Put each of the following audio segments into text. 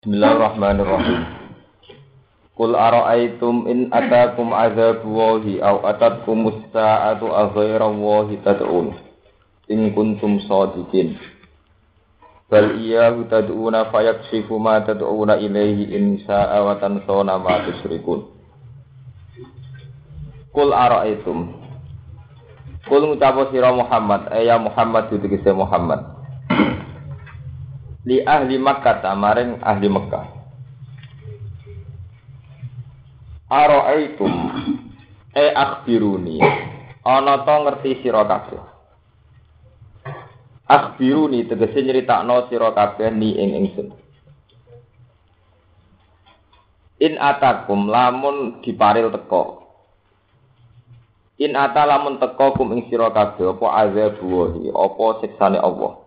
Bismillahirrahmanirrahim. Qul ara'aytum in atakum adzabullahi aw atatkumus sa'atu aghayrallahi tad'un in kuntum shadiqin. Bal iyyahu tad'una fayakshifu ma tad'una ilaihi in sha'a wa tansawna ma tusyrikun. Qul ara'aytum. Qul ngucapo sira Muhammad, ya Muhammad ditegese Muhammad. Li ahli Makkah maring ahli Mekah. Ara'aitum akhbiruni. Ana ta ngerti sira kabeh. Akhbiruni tegese nyritakno sira kabeh ni ing ingsun. In atakum lamun diparil teko. In ata lamun teko kum ing sira kabeh apa azabuhi, apa siksane Allah.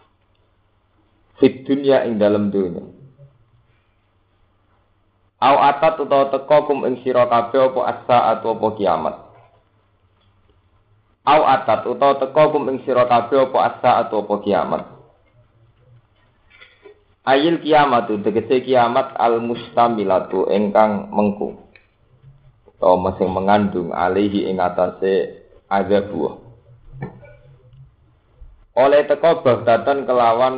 Fit dunya ing dalam dunya. Au atat utawa teka kum ing sira kabeh apa as-saat apa kiamat. Au atat utawa teka kum ing sira kabeh apa as-saat apa kiamat. Ayil kiamatu tegese kiamat al-mustamilatu ingkang mengku. Utawa sing mengandung alihi ing atase azabuh. Oleh teka bagdatan kelawan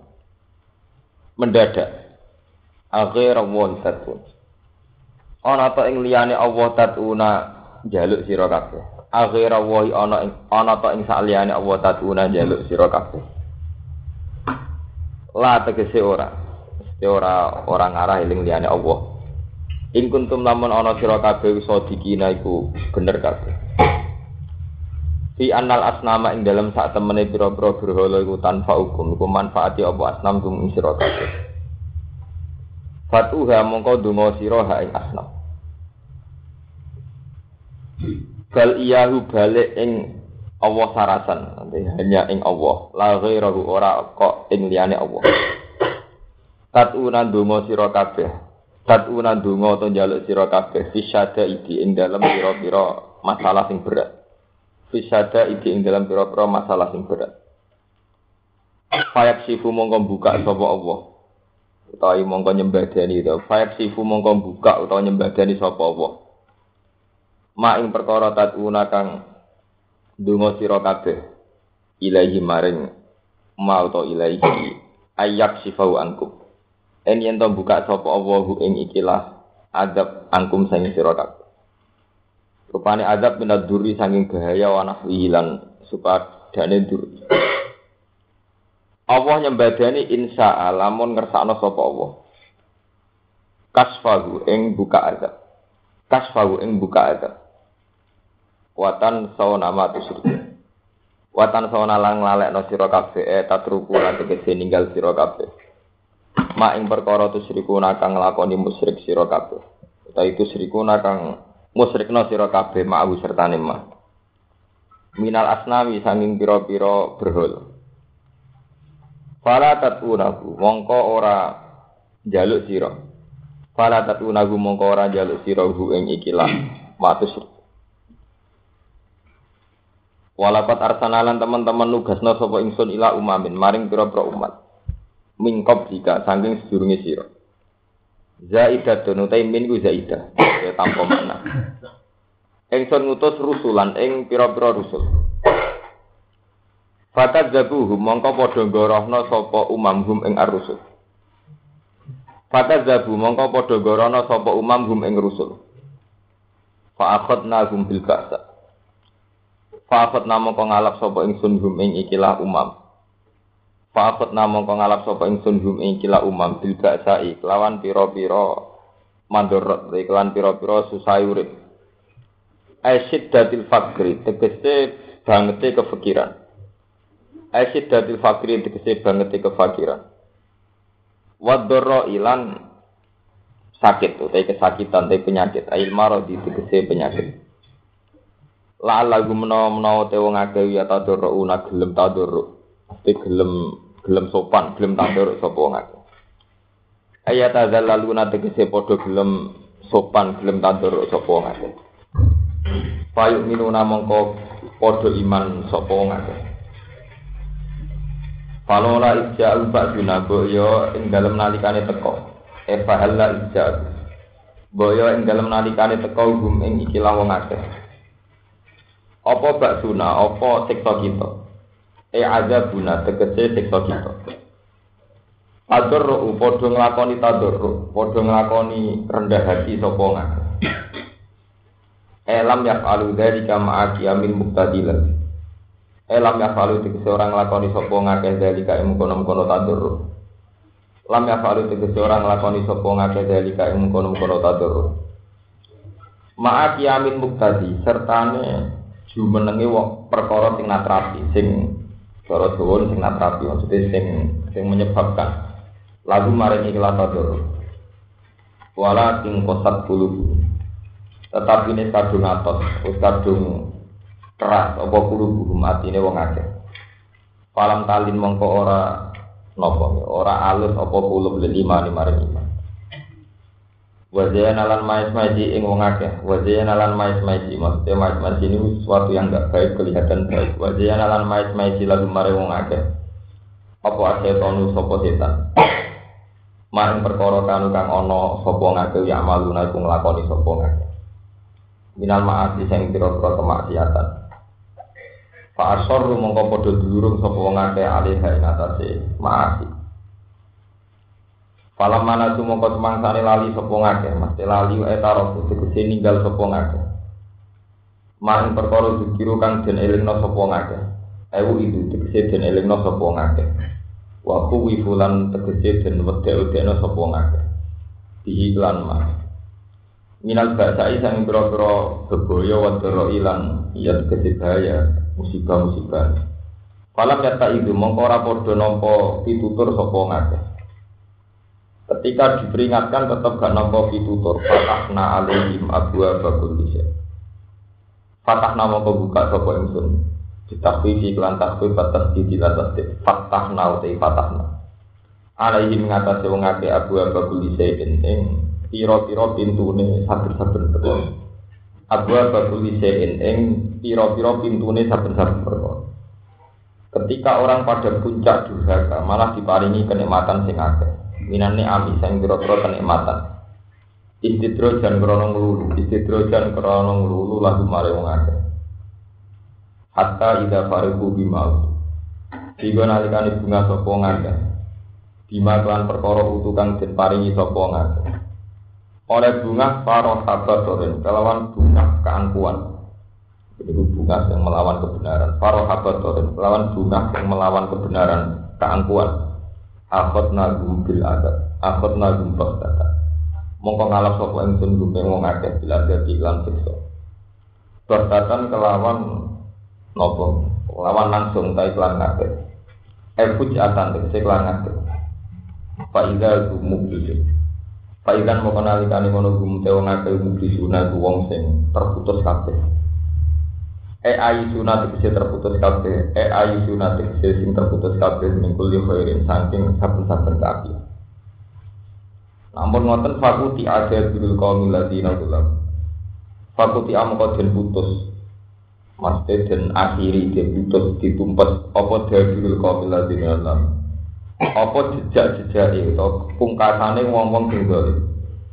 mendadak akhir Allah tatun ana ta ing liyane Allah tatuna njaluk sira kabeh akhir Allah ana ta ing sak liyane Allah tatuna njaluk sira kabeh la tegese ora ngarah eling liyane Allah in kuntum lamun ana sira kabeh sadikina iku bener kabeh fi annal asnama ing dalam sak temene pira-pira berhala iku tanpa hukum iku manfaati apa asnam kum ing sira kabeh. Fatuha mongko donga sira ha ing asnam. Bal iyahu balik ing Allah sarasan, hanya ing Allah, la ghairahu ora kok ing liyane Allah. Tatuna donga sira kabeh. Tatuna donga to njaluk sira kabeh fisyada iki ing dalam pira-pira masalah sing berat. Fisada iki ing dalam pira-pira masalah sing berat. Fayaksifu mongko buka sapa Allah. Utawi mongko nyembadani to. Fayaksifu mongko buka utawa nyembadani sapa Allah. Ma ing perkara tatuna kang donga sira kabeh. Ilahi maring ma utawa ilahi ayaksifau ankum. Yen to buka sapa Allah ing ikilah adab angkum sing sira kabeh. Rupane azab minad duri saking bahaya wa nahwi lan supadane duri. Allah nyembadani insya lamun ngersakno sapa Allah. Kasfahu ing buka azab. Kasfahu ing buka azab. Watan sawana ma tusyrik. Watan sawana lang lalekno sira kabeh tatruku lan tegese ninggal sira kabeh. Ma ing perkara tusyrikuna kang nglakoni musyrik sira kabeh. Utawa itu syrikuna kang musyrikna sira kabeh ma'u sertane ma. Minal asnami sanging pira-pira berhala. Fala tatunahu mongko ora njaluk sira. Fala tatunahu mongko ora njaluk sira hu ing ikilah matus. Walakat arsanalan teman-teman nugasna sapa ingsun ila umamin maring pira-pira umat. Mingkop jika sanging sedurunge sira. Zaidatun utai min ku zaidah ya tanpa makna. Ingsun ngutus rusulan ing pira-pira rusul. Fatadzabuhum mongko padha ngorohna sapa umamhum ing ar-rusul. Fatadzabu mongko padha ngorohna sapa umamhum ing rusul. Fa akhadnahum bil ba'sa. Fa akhadna mongko ngalap sapa ingsun hum ing ikilah umam. Fa'at namung kang ngalap sapa ingsun hum ing kila umam bil ba'sa'i lawan pira-pira mandorot iklan pira-pira susah urip. Asyiddatil faqri tegese bangete kefikiran. Asyiddatil faqri tegese bangete kefakiran. Wadorro ilan sakit utawa kesakitan utawa penyakit ail maradi tegese penyakit. La'allahu menawa te wong akeh ya tadorro una gelem tadorro. Gelem sopan, gelem tandur sapa wong akeh. Ayat azallaluna tegese padha gelem sopan, gelem tandur sapa wong akeh. Payu minuna mongko padha iman sapa wong akeh. Falola ija'u ba'duna yo ing dalem nalikane teko. Eva halla ijab. Boyo ing dalem nalikane teka hum ing ikilah wong akeh. Apa baksuna, apa siksa kita? Azabuna tegese siksa kita. Tadarru padha nglakoni tadarru, padha nglakoni rendah hati sapa ngakeh. Lam yaf'alu dzalika ma'a qiyamil muqtadilan. Lam yaf'alu tegese ora nglakoni sapa ngakeh dzalika ing kono-kono tadarru. Lam yaf'alu tegese ora nglakoni sapa ngakeh dzalika ing kono-kono tadarru. Ma'a qiyamil muqtadi sertane jumenenge wong perkara sing natrapi, sing cara Jawa sing natrapi maksudnya sing menyebabkan lagu maring ikhlas tadarru. Wala ting qasat qulub. Tetapi ini kadung atos, kadung keras, apa kulubuh matine wong akeh. Falam talin mongko ora nopo, ora alus apa kulub lima maring iman. Wajah nalan mais-maisi ing wong akeh, wajah nalan mais-maisi, maksudnya mais-maisi ini sesuatu yang enggak baik kelihatan baik. Wajah nalan mais-maisi lagu maring wong akeh. Apa asetonu sapa setan? Maring perkara kanu kang ana sapa ngake ya maluna iku nglakoni sapa ngake. Minal ma'asi sing pira-pira kemaksiatan. Fa asarru mongko padha durung sapa wong akeh alih ing atase ma'asi. Falam mana mongko semangsane lali sapa ngakeh, mesti lali etaro tegese ninggal sapa ngakeh. Maing perkara dikiru kang den elingno sapa ngakeh. Ewu itu tegese den elingno sapa ngakeh. Wa kuwi fulan tegese den wedhe-wedheno sapa ngakeh. Diiklan mah. Minal ba'sai sang pira-pira bebaya wadara ilang ya tegese bahaya musibah-musibah. Falam yata itu mongko ora padha nampa pitutur sapa ngakeh. Ketika diperingatkan tetap gak nampa pitutur. Fatahna alaihim abwa bakul lisya. Fatahna mongko buka sapa ingsun. Ditakfifi kelan takfif batas didilatas fatahna utai fatahna. Alaihim ngatasi wong akeh abwa bakul lisya ing pira-pira pintune saben-saben perkara. Abwa bakul lisya ing pira-pira pintune saben-saben perkara. Ketika orang pada puncak durhaka malah diparingi kenikmatan sing akeh. Minane ami sing pira-pira kenikmatan. Istidrojan krana nglulu lagu mare wong akeh. Hatta ida fariqu bimau. Digo nalikane bunga sapa ngakeh. Bima kelan perkara utu kang den paringi sapa ngakeh. Oleh bunga paroh habatorin kelawan bunga keangkuhan. Itu bunga yang melawan kebenaran. Paroh habatorin kelawan bunga yang melawan kebenaran keangkuhan. Akhot nagum bil adat, akhot nagum bastata. Mongko ngalap sapa ingsun gumeng wong akeh bila dadi lan siksa. Bastatan kelawan nopo, kelawan langsung ta iklan akeh. Fujatan tegese iklan akeh. Fa idza mublis. Fa idzan mongko nalikane ngono gumte wong akeh mublisuna wong sing terputus kabeh. Ayu sunat tegese terputus kabeh, ayu sunat tegese sing terputus kabeh mingkul li khairin saking saben-saben kabeh. Namun ngoten fakuti ada bil qaumil ladina ulam. Fakuti amko den putus. Maksud den akhiri den putus ditumpes apa bil qaumil ladina ulam. Apa jejak-jejake utawa pungkasane wong-wong sing dolim.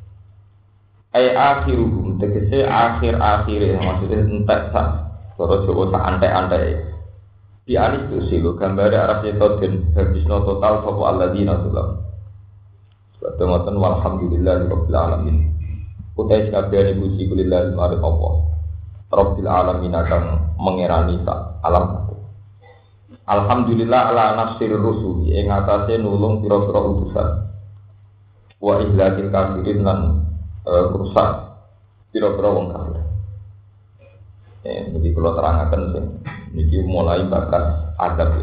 Akhiruhum tegese akhir-akhire maksudnya entek sak cara Jawa sak antek-antek. Di anis itu sih lo gambare arah seto den habisno total sapa alladzina ulam. Ngoten walhamdulillahirabbil alamin. Utai kabehane puji kulillah marang Allah. Rabbil alamin kang mengerani sak alam. Alhamdulillah ala nasir rusul ing atase nulung pira-pira utusan. Wa ihlakil kafirin lan rusak pira-pira wong kafir. Jadi kalau terangkan sih, ini mulai bakas adab ya.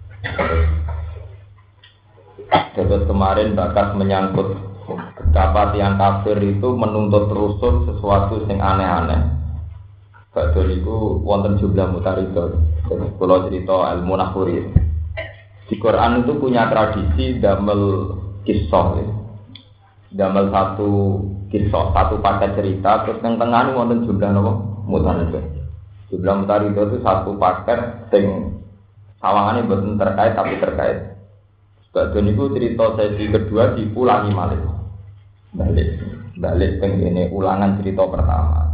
Terus kemarin bakas menyangkut betapa tiang kafir itu menuntut rusul sesuatu yang aneh-aneh. Badal itu wonten jumlah mutaridor. Kalau cerita ilmu nahuri, di Quran itu punya tradisi damel kisah, ya. Damel satu kisah, satu paket cerita, terus yang tengah wonten jumlah apa mutaridor. Jumlah mutaridor itu satu paket sing sawangannya betul terkait tapi terkait. Badal itu cerita sesi kedua dipulangi malih. balik ini ulangan cerita pertama.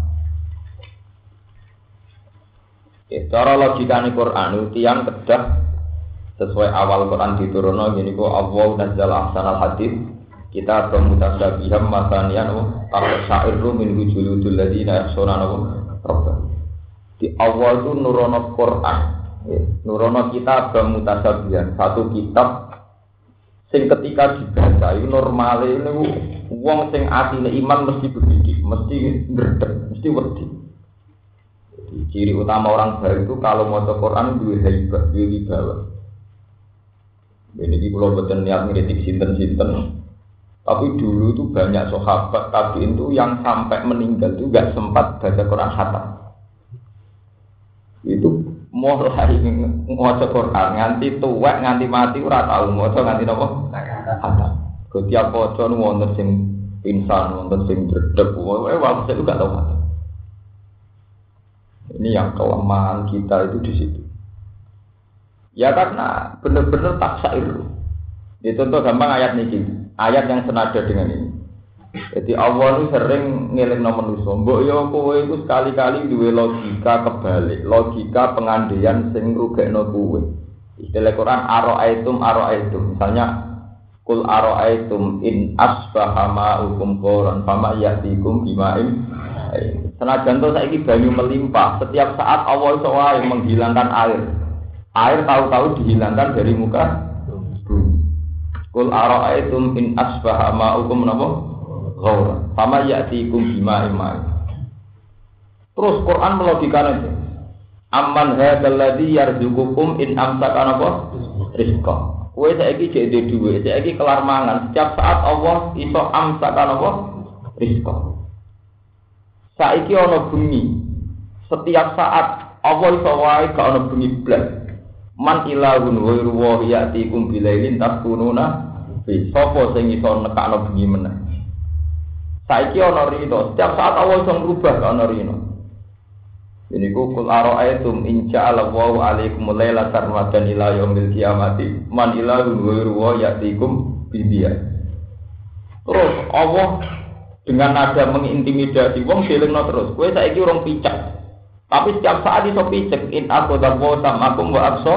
Cara logikane Quran itu yang kedah sesuai awal Quran diturunno gini kok Allah nazzala ahsanal hadits kita bermutasabiham masanian syairru min wujudul ladina yakhshawna rabbah. Di awal itu nurono Quran, nurono kitab bermutasabihan, satu kitab sing ketika dibaca itu normale niku wong sing atine iman mesti berdidik, mesti ngredeg, mesti wedi. Ciri utama orang baik itu kalau maca Quran duwe haibah, duwe wibawa. Ini kalau betul niat ngeritik sinten-sinten, tapi dulu itu banyak sahabat tabiin itu yang sampai meninggal itu nggak sempat baca Quran khatam. Itu mulai maca Quran nganti tuwek nganti mati ora tau maca nganti napa khatam. Setiap maca nu wonten sing pingsan, wonten sing dredeg, waktu itu gak tau khatam. Ini yang kelemahan kita itu di situ. Ya karena benar-benar tak syair. Ini contoh gampang ayat ini, ayat yang senada dengan ini. Jadi Allah itu sering ngelingno manusa. Mbok yo kowe iku sekali-kali duwe logika kebalik, logika pengandaian sing ngrugekno kowe. Istilah Quran ara'aitum. Misalnya kul ara'aitum in asbaha ma'ukum qoran fama ya'tikum bima'in. Senajan to saiki banyu melimpah, setiap saat Allah iso wae menghilangkan air. Air tahu-tahu dihilangkan dari muka bumi. Kul ara'aitum in asbaha ma'ukum napa? Ghawra. Fama ya'tikum bima'in ma'in. Terus Quran melogikakan itu. Amman hadzal ladzi yarzuqukum in amsaka napa? Rizqa. Kowe saiki jek ndek dhuwit, saiki kelar mangan, setiap saat Allah iso amsaka napa? Rizqa. Saiki ana bengi. Setiap saat Allah iso wae gak ana bengi blas. Man ilahun ghairu wa ya'tikum bilailin taskununa fi. Sapa sing iso nekakno bengi meneh. Saiki ana rino, setiap saat Allah iso ngrubah gak ana rino. Ini kul ara'aitum in ja'ala Allahu 'alaikum laila sarmadan ila yaumil qiyamati man ilahun ghairu wa ya'tikum bidiya. Terus Allah dengan nada mengintimidasi wong dilengno terus. Kowe saiki urung picek. Tapi setiap saat iso picek in aku dawo samakum wa abso.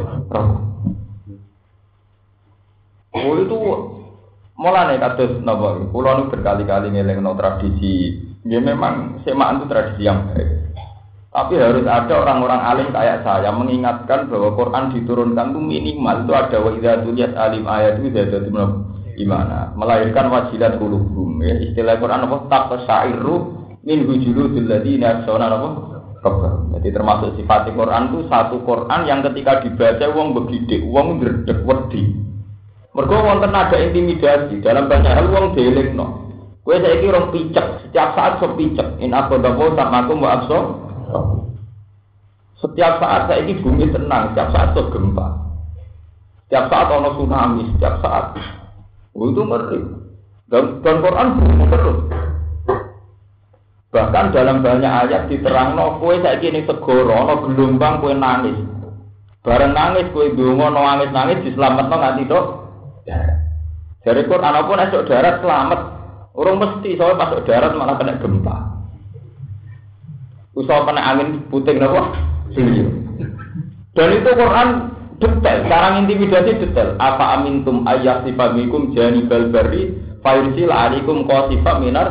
Oh itu mulane kados napa? Kula nu berkali-kali ngelingno tradisi. Ya memang semaan itu tradisi yang baik. Tapi harus ada orang-orang alim kayak saya mengingatkan bahwa Quran diturunkan itu minimal itu ada wa idza tuliyat alim ayat itu jadi gimana? Melahirkan wajilat qulubum ya. Istilah Quran apa? Taqsairu min wujudil ladina yakhshawna rabbah. Jadi termasuk sifat Quran itu satu Quran yang ketika dibaca wong begidik, wong ngredeg wedi. Mergo wonten ada intimidasi dalam banyak hal wong dielingno. Kowe saiki rong picek, setiap saat so picek. In aqdamu samakum wa abso. Setiap saat saiki bumi tenang, setiap saat so gempa. Setiap saat ono tsunami, setiap saat itu ngeri. Dan Quran terus. Bahkan dalam banyak ayat diterangno kowe saiki ning segara ana gelombang kowe nangis. Bareng nangis kowe ndonga nangis dislametno nganti tok. Dari Quran apa nek tok darat selamat. Urung mesti soal masuk darat malah kena gempa. Usaha kena angin puting napa? Dan itu Quran detail, sekarang intimidasi detail. Apa amintum ayyasifa bikum janibal barri fayursil alaikum qasifa minar.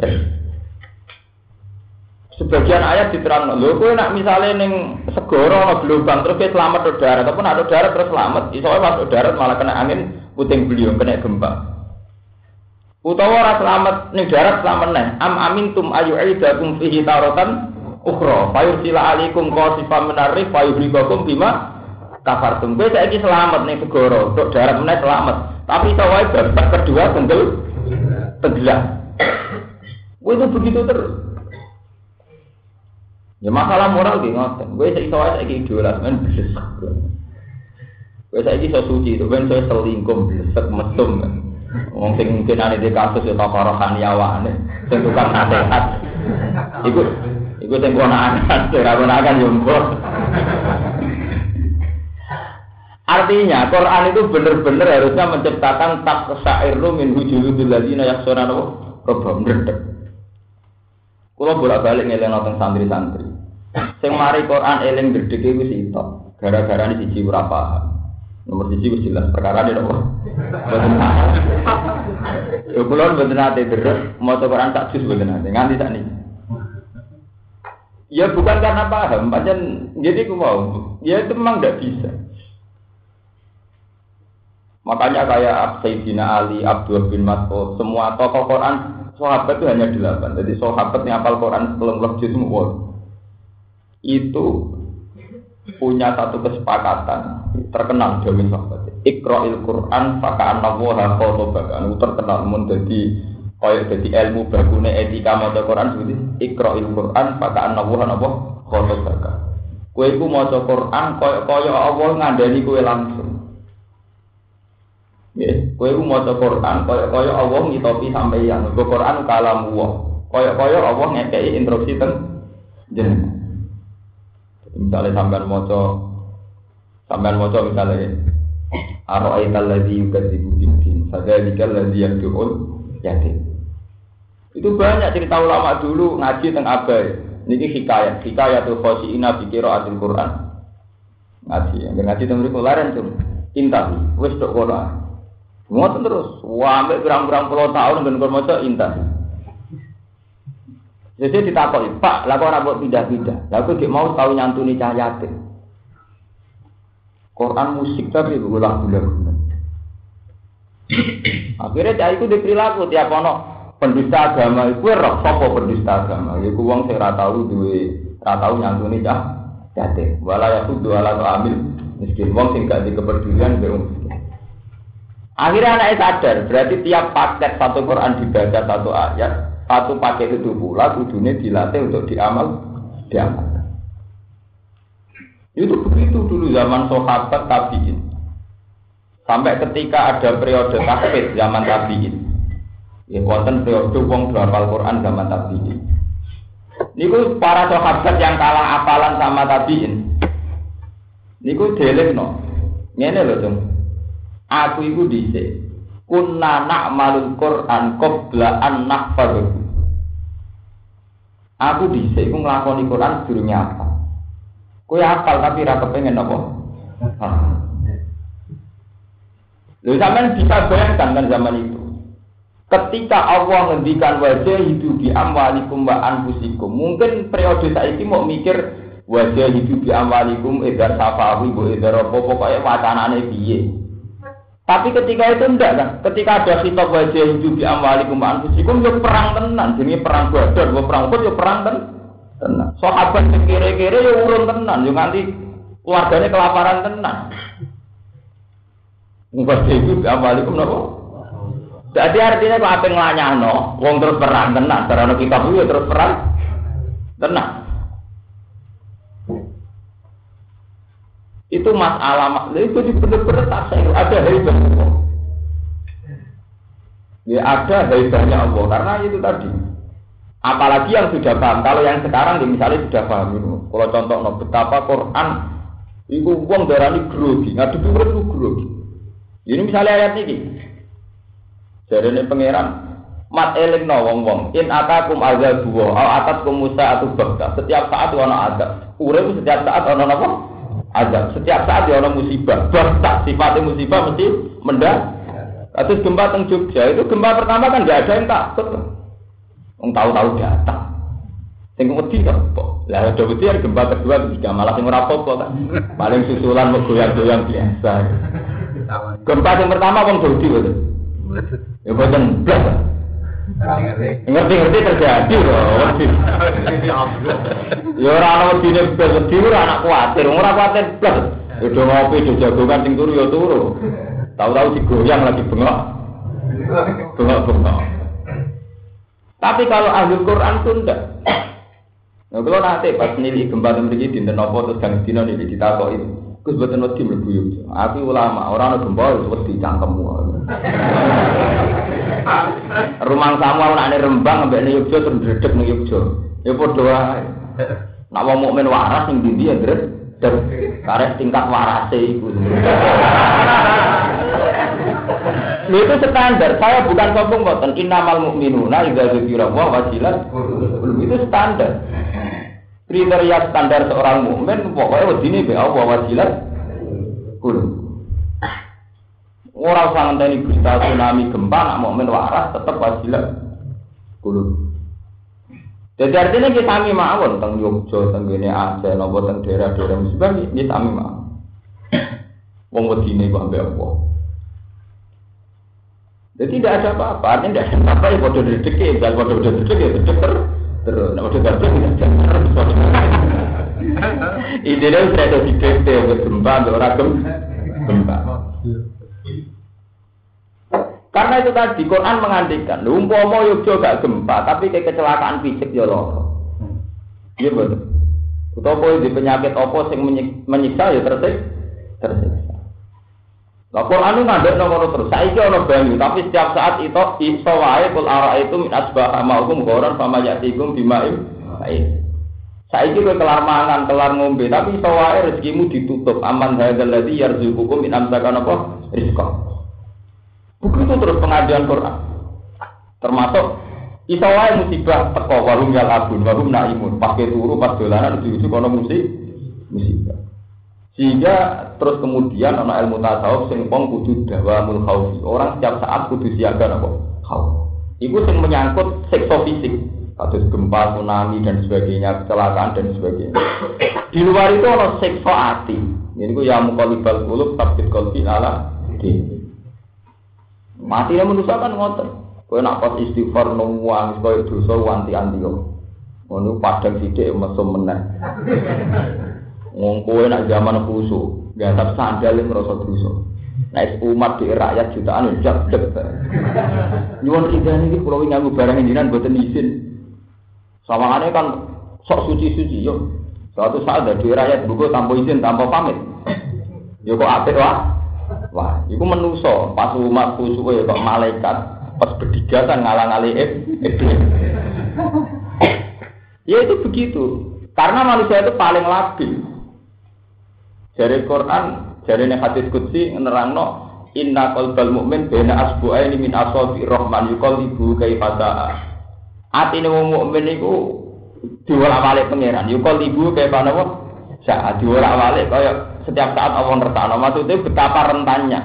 Sebagian ayat diterangno, lho kowe nak misale ning segara ana gelombang terus kowe selamat ke darat, ataupun ada darat terus selamat, iso masuk darat malah kena angin puting beliung kena gempa. Utawa ora selamat ning darat selamat neh. Am amintum ayyu'idakum fihi taratan ukhra fayursil alaikum qasifa minar fayuhrikum bima kafartum. Kowe saiki selamat ning segara, tok darat meneh selamat. Tapi iso wae babak kedua tenggelam. Kowe itu begitu terus. Ya masalah moral ki ngoten. Kowe iso wae saiki idola men blesek. Kowe saiki iso suci, to ben iso selingkuh blesek mesum. Wong sing mungkin ane di kasus ya tokorohan yawane, sing tukang nasihat. Iku sing kono akan, ora kono akan yo mbok. Artinya Quran itu benar-benar harusnya menciptakan taqsa'irru min wujudil ladzina yakhshawna rabbahum. Kula bolak-balik ngelingno teng santri-santri. Sing mari Quran eling gedhe iku sitok. Gara-gara ini siji ora paham. Nomor siji wis jelas perkara ini apa? Boten paham. Yo kula mboten nate deres maca Quran sak juz mboten nate nganti sakniki. Ya bukan karena paham, pancen jadi ku mau. Ya itu memang enggak bisa. Makanya kayak Sayyidina Ali, Abdul bin Mas'ud, semua tokoh Quran sahabat itu hanya 8. Jadi sahabat yang hafal Quran 10 juz semua. Itu punya satu kesepakatan terkenal jamin sahabat. Iqra'il Quran faka'annahu khatabaka. Anu terkenal mun dadi kaya dadi ilmu bagune etika maca Quran seperti Iqra'il Quran faka'annahu khatabaka. Kowe iku maca Quran kaya Allah ngandani kowe langsung. Nggih, kowe iku maca Quran kaya Allah ngitopi sampeyan. Quran kalam Allah. Kaya Allah ngekeki instruksi teng jenengan. Misalnya sampean maca misalnya ara'aital ladzi yukadzibu bid-din fadzalikal ladzi yad'ul yatim. Itu banyak cerita ulama dulu ngaji teng Abai. Niki hikayatul khoshiina bi qiraatil Quran. Ngaji teng mriku laren cum. Intahi wis tok kono. Ngoten terus, sampai berang-berang puluh tahun ben kon maca intahi. Jadi ditakoki, Pak, lha kok ora mbok pindah-pindah. Lah kok gek mau tau nyantuni cah yatim. Quran musik tapi lagu-lagu. Akhirnya cah iku diperilaku tiap ono pendusta agama iku roh sapa pendusta agama. Iku wong sing ora tau nyantuni cah yatim. Wala yaqud wala ta'amil miskin wong sing gak dikepedulian mbek wong miskin. Akhirnya anaknya sadar, berarti tiap paket satu Quran dibaca satu ayat. Satu paket itu pula kudune dilatih untuk diamalkan. Itu begitu dulu zaman sahabat tabi'in. Sampai ketika ada periode tahfidz zaman tabi'in. Ya wonten periode wong hafal Quran zaman tabi'in. Niku para sahabat yang kalah apalan sama tabi'in. Niku delehno. Ngene lho, Cung. Aku iku dhisik kunna na'malul Qur'an qabla an nahfadhu. Aku dhisik iku nglakoni Quran sedurunge apa. Kowe hafal tapi ora kepengin apa? Lha sampean bisa bayangkan kan zaman itu. Ketika Allah ngendikan wajah hidup di amwalikum wa anfusikum, mungkin periode saiki mau mikir wajah hidup di amwalikum edar safawi bu edar apa pokoke wacanane piye. Tapi ketika itu enggak kan, ketika ada khitab wajah hidup di amwalikum anfusikum yo perang tenan, jenenge perang Badar, perang Uhud yo perang tenan. Sahabat kere-kere yo urun tenan, yo nganti keluargane kelaparan tenan. Wajah hidup di amwalikum napa? Jadi artinya kok ape nglanyahno, wong terus perang tenan, sarana kitab yo terus perang tenan. Itu masalah itu benar-benar tak saya ada haibah Allah. Ya ada haibahnya Allah karena itu tadi. Apalagi yang sudah paham. Kalau yang sekarang misalnya sudah paham itu. Kalau contoh betapa Quran itu wong darani grogi, ngadepi urip itu grogi. Ini misalnya ayat ini. Jarene pangeran mat elingno wong-wong in atakum azabu wa atatkum musa'atu bakta. Setiap saat ana azab. Urip setiap saat ana napa? Azab. Setiap saat ya ada musibah. Bahkan sifatnya musibah mesti mendak. Terus gempa teng Jogja itu gempa pertama kan tidak ada yang takut. Wong tahu-tahu datang. Sing wedi kok. Lah ada wedi gempa kedua ketiga malah sing ora apa-apa kan. Paling susulan goyang-goyang biasa. Gempa yang pertama wong wedi betul. Ya boten blas. Ngerti-ngerti terjadi loh. Ya ora ana wedine wedi ora anak kuwatir, ora kuwatir blas. Udah ngopi do jagongan sing turu ya turu. Tahu-tahu digoyang lagi bengok. Bengok-bengok. Tapi kalau ahli Quran itu enggak. Nah, kalau nanti pas nilai gempa mriki dinten apa terus gang dina nilai ditakoki. Gus boten wedi mlebu yo. Aku ulama, ora ana gempa wis wedi cangkemmu. Rumang samu anake Rembang ambek ning Yogya terus ndredeg ning Yogya. Ya padha wae. Nek wong mukmin waras ning ndi ya ndredeg. Karena tingkat warase itu. Itu standar. Saya bukan sombong boten. Innamal mu'minuna idza dzukira wa wajilat. Itu standar. Kriteria standar seorang mukmin pokoknya wedine be Allah wajilat. Ora usah ngenteni berita tsunami gempa nak mukmin waras tetep wajilat. Jadi artinya kita sami mawon teng Yogyakarta, teng kene Aceh, napa teng daerah-daerah musibah iki sami mawon. Wong wedine kok ambek apa? Jadi tidak ada apa-apa, artinya tidak ada apa-apa ya bodoh dedeke, dan bodoh dedeke ya terus, nak bodoh gabung tidak terus. Idealnya saya ada di DP, gempa, orang gempa. Karena itu tadi Quran mengandikan, umpama Yogyakarta gak gempa, tapi kayak kecelakaan fisik ya loro. Iya betul. Utawa di penyakit apa sing menyiksa ya tersiksa. Lah Quran ngandek nomor terus. Saiki ana banyu, tapi setiap saat itu iso wae kul ara itu min asbah maukum ghoran fama yatikum bimaim. Baik. Saiki kowe kelar mangan, kelar ngombe, tapi iso wae rezekimu ditutup. Aman hadzal ladzi yarzuqukum min amsakan apa? Rizqa. Begitu terus pengajian Quran. Termasuk iso wae musibah teko warung yal abun, warung naimun, pakai turu pas dolanan ujug-ujug ana musibah. Sehingga terus kemudian ana ilmu tasawuf sing wong kudu dawamul khaufi. Orang setiap saat kudu siaga apa? Khauf. Iku sing menyangkut siksa fisik, kados gempa, tsunami dan sebagainya, kecelakaan dan sebagainya. Di luar itu ana siksa ati. Niku ya muqallibal qulub tabbit qalbi ala din. Matinya manusia kan ngoten. Kowe nak pas istighfar nuwang koyo dosa wanti-anti yo. Ngono padang sithik mesum meneh. Wong kowe nak zaman khusuk, gasap sandal ngrasa dosa. Nek umat di rakyat jutaan njak dek. Nyuwun idane iki kula nganggo barang jenengan mboten izin. Sawangane kan sok suci-suci yo. Suatu saat dari rakyat buku tanpa izin, tanpa pamit. Yo kok apik wae. Wah, itu menuso pas umat khusyuk ya kok malaikat pas berdigatan ngalang-aling iblis. Ya itu begitu. Karena manusia itu paling labil. Dari Quran, dari hadis qudsi nerangno inna qalbal mu'min baina asbu'aini min asabi rahman yuqallibu kaifa sa'a. Atine wong mukmin iku diwolak-walik pangeran, yuqallibu kaifa napa? Saat diwolak-walik kaya setiap saat Allah ngertakno, maksudnya betapa rentannya.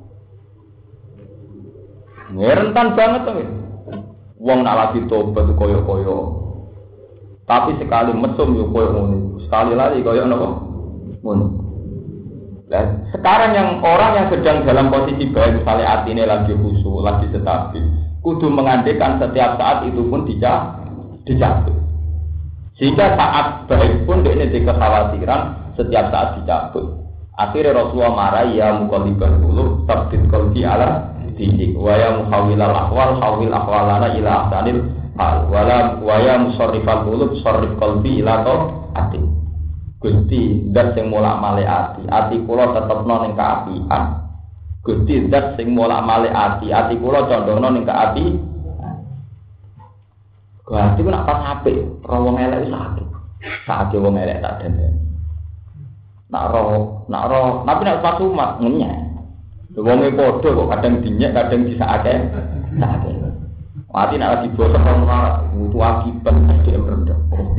Rentan banget tuh. Wong nak lagi tobat koyo-koyo. Tapi sekali mesum yo koyo ngono. Sekali lagi koyo napa? Ngono. Dan sekarang yang orang yang sedang dalam posisi baik, misalnya atine lagi khusyuk, lagi stabil, kudu mengandekan setiap saat itu pun dicabut. Sehingga saat baik pun dia ini kekhawatiran setiap saat dicabut. Akhirnya Rasulullah marah ya muqallibal qulub tabbit qalbi ala dinik wa ya muhawwilal ahwal hawwil ahwalana ila ahsanil hal wa ya musarrifal qulub sarrif qalbi ila taati. Gusti zat sing molak-malik ati kula tetepno ning kaapian. Gusti zat sing molak-malik ati kula condongno ning kaapi. Gusti ku nak pas apik, wong elek sakit. Sakit wong elek tak den. Nak roh, tapi nak pas umat ngenyek. Wonge padha kok kadang dinyek, kadang disakake. Mati nak lagi bosok ora butuh akibat dia rendah.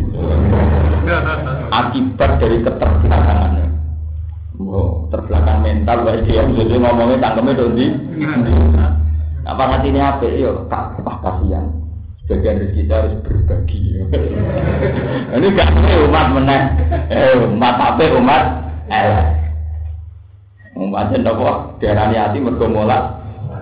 Akibat dari keterbelakangannya. Oh, terbelakang mental wae dia jadi ngomongnya tangkeme dondi. Apa ngatine apik yo tak kasihan. Sebagian rezeki kita harus berbagi. Ini gak umat meneh. Umat apik umat elek. Umatnya napa diarani ati mergo molak.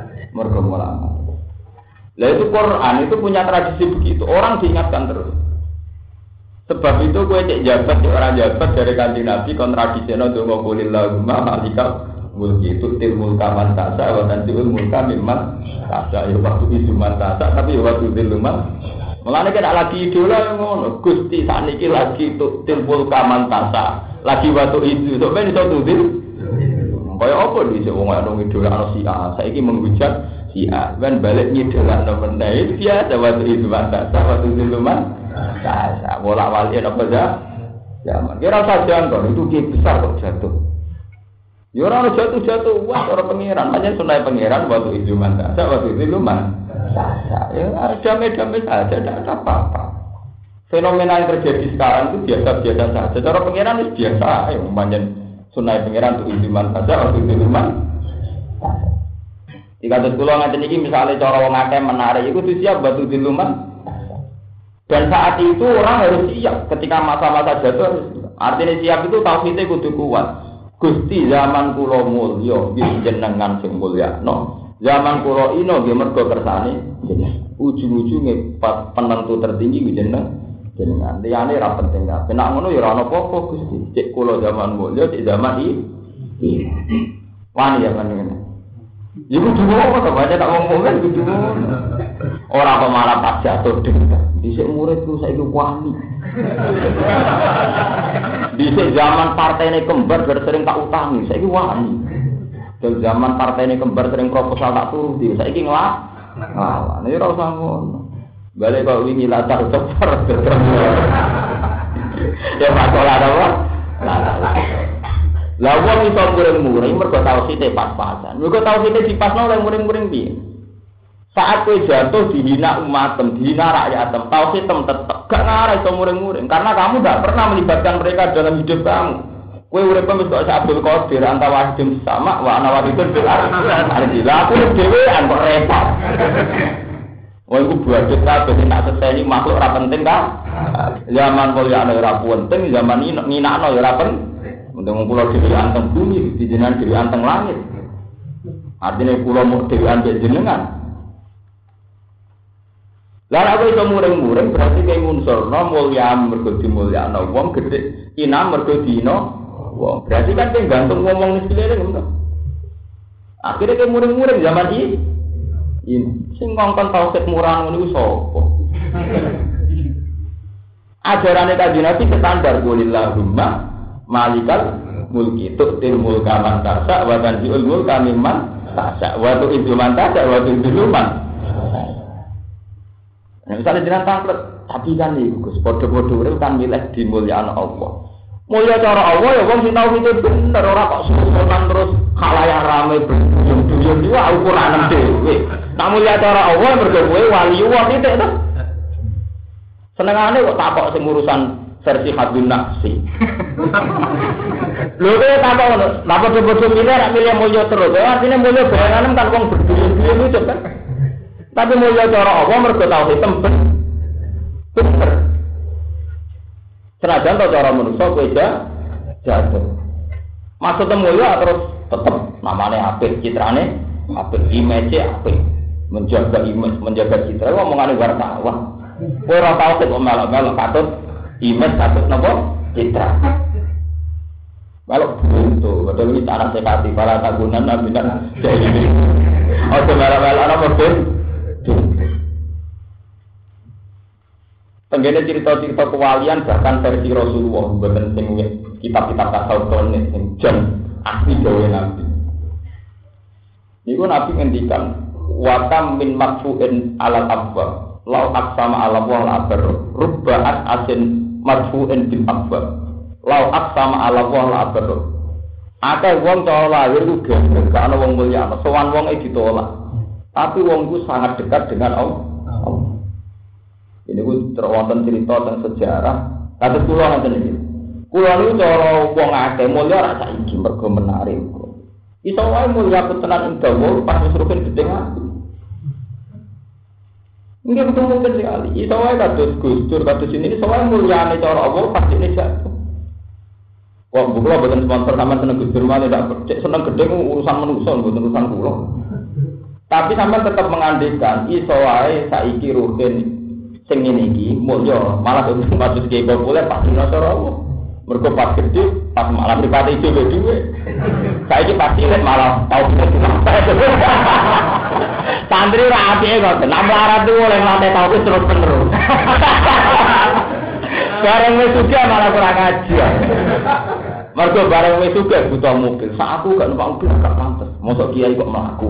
Lah itu Quran itu punya tradisi begitu. Orang diingatkan terus. Sebab itu kowe cek jabat di orang jabat dari Kanjeng Nabi kon tradisine donga kulillahumma malikal mulki tutil mulka man tasa wa tanzi'ul mulka mimman tasa ya waktu izuman tasa tapi ya waktu diluman. Mulane kena lagi idola ngono. Gusti sakniki lagi tutil mulka man tasa. Lagi waktu itu sok ben iso tutil. Kaya apa dhisik wong ana idola ana si A. Saiki menghujat si A, kan balik ngidolan nomor itu biasa waktu itu mantasa, waktu itu luman, biasa bolak balik apa saja, Zaman. Kira usah jangkau, itu kiai besar kok jatuh. Ya orang jatuh, wah orang pangeran, macam sunai pangeran waktu itu mantap, waktu itu lumayan. Ya damai-damai saja, tidak ada apa-apa. Fenomena yang terjadi sekarang itu biasa-biasa saja. Cara pangeran itu biasa, macam sunai pangeran itu mantap saja, waktu itu lumayan. Jika ada pulau ngaten ini misalnya cara wong akeh menarik, itu siap waktu itu lumayan. Dan saat itu orang harus siap ketika masa-masa jatuh. Artinya siap itu tauhidnya kudu kuat. Gusti zaman kula mulya nggih jenengan sing mulyakno. Zaman kula ino nggih mergo kersane jenengan. Ujung-ujunge penentu tertinggi nggih jenengan. Liyane ra penting kabeh. Nek ngono ya ora ana apa-apa Gusti. Cek kula zaman mulya, cek zaman iki. Wani ya panjenengan. Ya kudu apa to baca tak ngomong kan kudu. Ora kok malah pas jatuh dhewe. Dhisik muridku saiki wani. Dhisik zaman partene kembar sering tak utangi, saiki wani. Dol zaman partene kembar sering proposal tak turuti, saiki nglawan. Ya ora usah ngono. Balik kok wingi latar ceper. Ya masalah apa? Lah wong iso muring-muring mergo tauhide pas-pasan. Mergo tauhide dipasno oleh muring-muring piye? Saat kowe jatuh dihina umatem, dihina rakyatem, tauhid tetep gak ngarah iso muring-muring karena kamu gak pernah melibatkan mereka dalam hidup kamu. Kowe urip wis kok Abdul Qadir antara wahidin sama wa ana wahidun bil ardi. Lah aku dhewean kok repot. Wong iku buadet kabeh tak seseni makhluk ora penting kan? Zaman mulya ora penting, zaman ini nginakno ya ora penting. Untung kula dhewe anteng bumi, jenengan dhewe anteng langit. Artinya kula mau dhewe ambek jenengan. Lah aku iso muring-muring berarti kaya ngunsurno mulya mergo dimulyakno wong gedhe, ina mergo dina wong. Berarti kan kowe gantung ngomong nisilene ngono. Akhire kowe muring-muring zaman iki. Sing ngongkon tauhid murah ngono iku sapa? Ajarane Kanjeng Nabi standar qulillahumma malikal mulki tu'til mulka man tasya wa tanzi'ul mulka mimman tasya wa tu'izzu man tasya wa tu'izzu man. Nah, misalnya jenengan tanglet, tapi kan iki Gus, padha-padha urip kan milih dimulyakno Allah. Mulya cara Allah ya wong sing tau itu bener ora kok susunan terus khalayak rame berduyun-duyun iki ukuran dhewe. Nek mulya cara Allah mergo kowe wali Allah titik to. Senengane kok takok sing urusan versi hadun nafsi. Lho kowe takok ngono, napa padha-padha milih nek milih mulya terus. Artine mulya bayangan kan wong berduyun-duyun itu kan. Tapi mulya cara Allah mergo tauhid temben. Bener. Senajan to cara manusa kowe jatuh. Maksudnya mulya terus tetep namane apik, citrane apik, image apik. Menjaga image, menjaga citra omongane wartawan. Kowe ora tau kok melok-melok katut image katut napa? Citra. Kalau itu, betul ini cara sekati para tagunan nabi kan jadi. Oh melok-melok apa betul? Tenggene cerita-cerita kewalian bahkan versi Rasulullah mboten sing kitab-kitab tasawuf tone sing jan asli dawuh Nabi. Niku Nabi ngendikan wa kam min marfu'in alal abwa law aqsama ala wa al-abar rubba'at asin marfu'in bil abwa law aqsama ala wa al-abar. Akeh wong cara lahir ku gak ana wong mulya, sowan wong ditolak. Tapi wong ku sangat dekat dengan Allah. Ini ku terwonten cerita tentang sejarah. Kata kula ngoten iki. Kula niku cara wong akeh mulya ora saiki mergo menarik. Iso wae mulya tenan ing dawa pas wis rugen gedhe ati. Nggih betul mungkin sekali. Iso wae kados Gus Dur kados ini iso wae mulyane cara Allah pasti ini jatuh. Wong kula boten sponsor sampean seneng Gus Dur malah ndak seneng gedhe urusan manusa mboten urusan kula. Tapi sampean tetap mengandekan iso wae saiki rugen sing ngene iki mulya malah maksud ki populer pasti cara Allah. Mergo pas gede pas malah pripate dhewe. Saiki pasti malah tau santri ra apike kok nambah arep oleh lantai tau terus penerus. Bareng wis suka malah kurang ngaji. Mergo bareng wis suka butuh mobil. Sak aku gak numpak mobil gak pantes. Mosok kiai kok mlaku.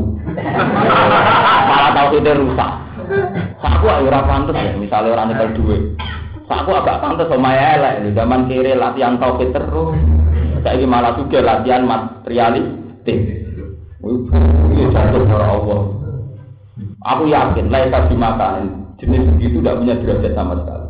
Malah tau rusak. Aku ayo ora pantes ya, misale ora nyekel dhuwit. Aku agak pantes sama elek di zaman kiri latihan tauhid terus. Saiki malah juga latihan materialistik. Ini jatuh dari Allah. Aku yakin laisa dimakan jenis begitu tidak punya derajat sama sekali.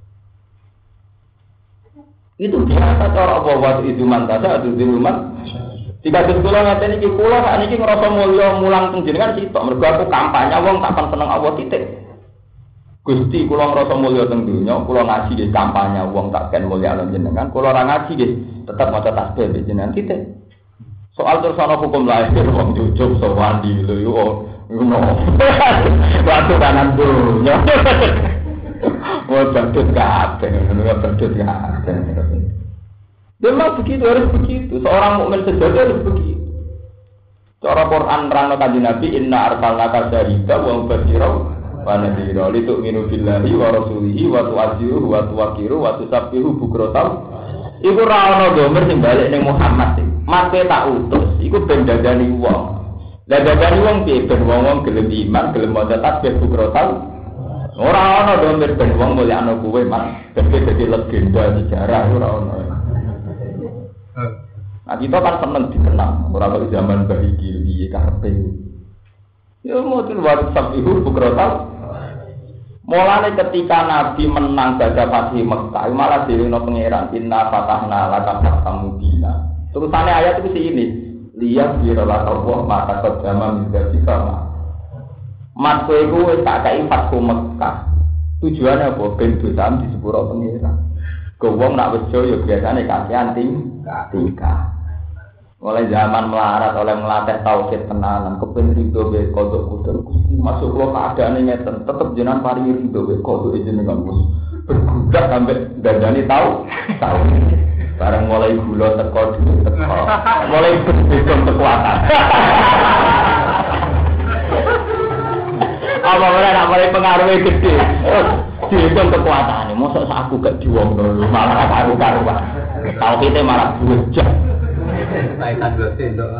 Itu biasa cara Allah waktu itu mantasa atau diluman. Jika sekolah ngaten iki kula sakniki ngrasa mulya mulang teng jenengan sitok mergo aku kampanye wong tak seneng Allah titik. Gusti kula ngrasa mulya teng donya, kula ngaji nggih kampanye wong tak ken mulya jenengan, kula ora ngaji nggih tetep maca tasbih jenengan titik. Soal terus ana hukum lahir wong jujuk sowan di lho yo ngono. Waktu kanan donya. Wah badut kabeh, ngono badut kabeh. Memang begitu harus begitu. Seorang mukmin sejati harus begitu. Cara Quran nerangno kanjeng Nabi inna arsalnaka syahidan wa mubasyiran wa nadhira litu'minu billahi wa rasulihi wa tu'azziruhu wa tuwaqqiruhu wa tusabbihu bukratan. Iku ra ono domir sing balik ning Muhammad iki. Mate tak utus, iku ben dadani wong. Lah dadani wong piye ben wong gelem iman, gelem maca tasbih bukratan. Ora ono domir ben wong mulyakno kuwe man, ben dadi legenda sejarah ora ono. Nah kita kan seneng dikenang, orang kalau zaman bahiki piye karepe. Ya model WhatsApp itu bukrotal. Mulane ketika Nabi menang baca Fatih Mekah, malah dirino pangeran inna fatahna laka fathan mubina. Terusane ayat itu ini, lihat birola Allah maka kejama menjadi sama. Mat kowe iku wis tak kai Fathu Mekah. Tujuane apa? Ben dosa di sepuro pangeran. Wong nak wejo ya biasane kasihan tingkah. Mulai zaman melarat oleh melatih tauhid tenanan, kepen rido be kodok kudur Gusti masuk lo keadaan ngeten, tetep jenengan paringi rido be kodok jenengan Gus. Bergudak sampai dandani tahu. Bareng mulai gula teko mulai berbeda kekuatan. Apa ora mulai pengaruhnya gede. Dihitung kekuatannya, mosok aku gak diwong dulu, malah karu-karuan. Tauhidnya malah bujak. Kaitan dosen dok.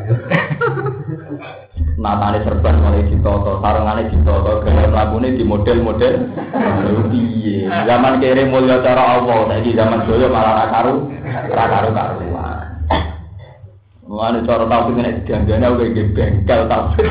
Natane serban mulai ditoto, sarungane ditoto, gaya mlakune di model-model. Piye? Zaman kere mulya cara Allah, saiki zaman doyo malah karu-karuan. Mulane cara tauhid nek dianggane kowe iki bengkel tauhid.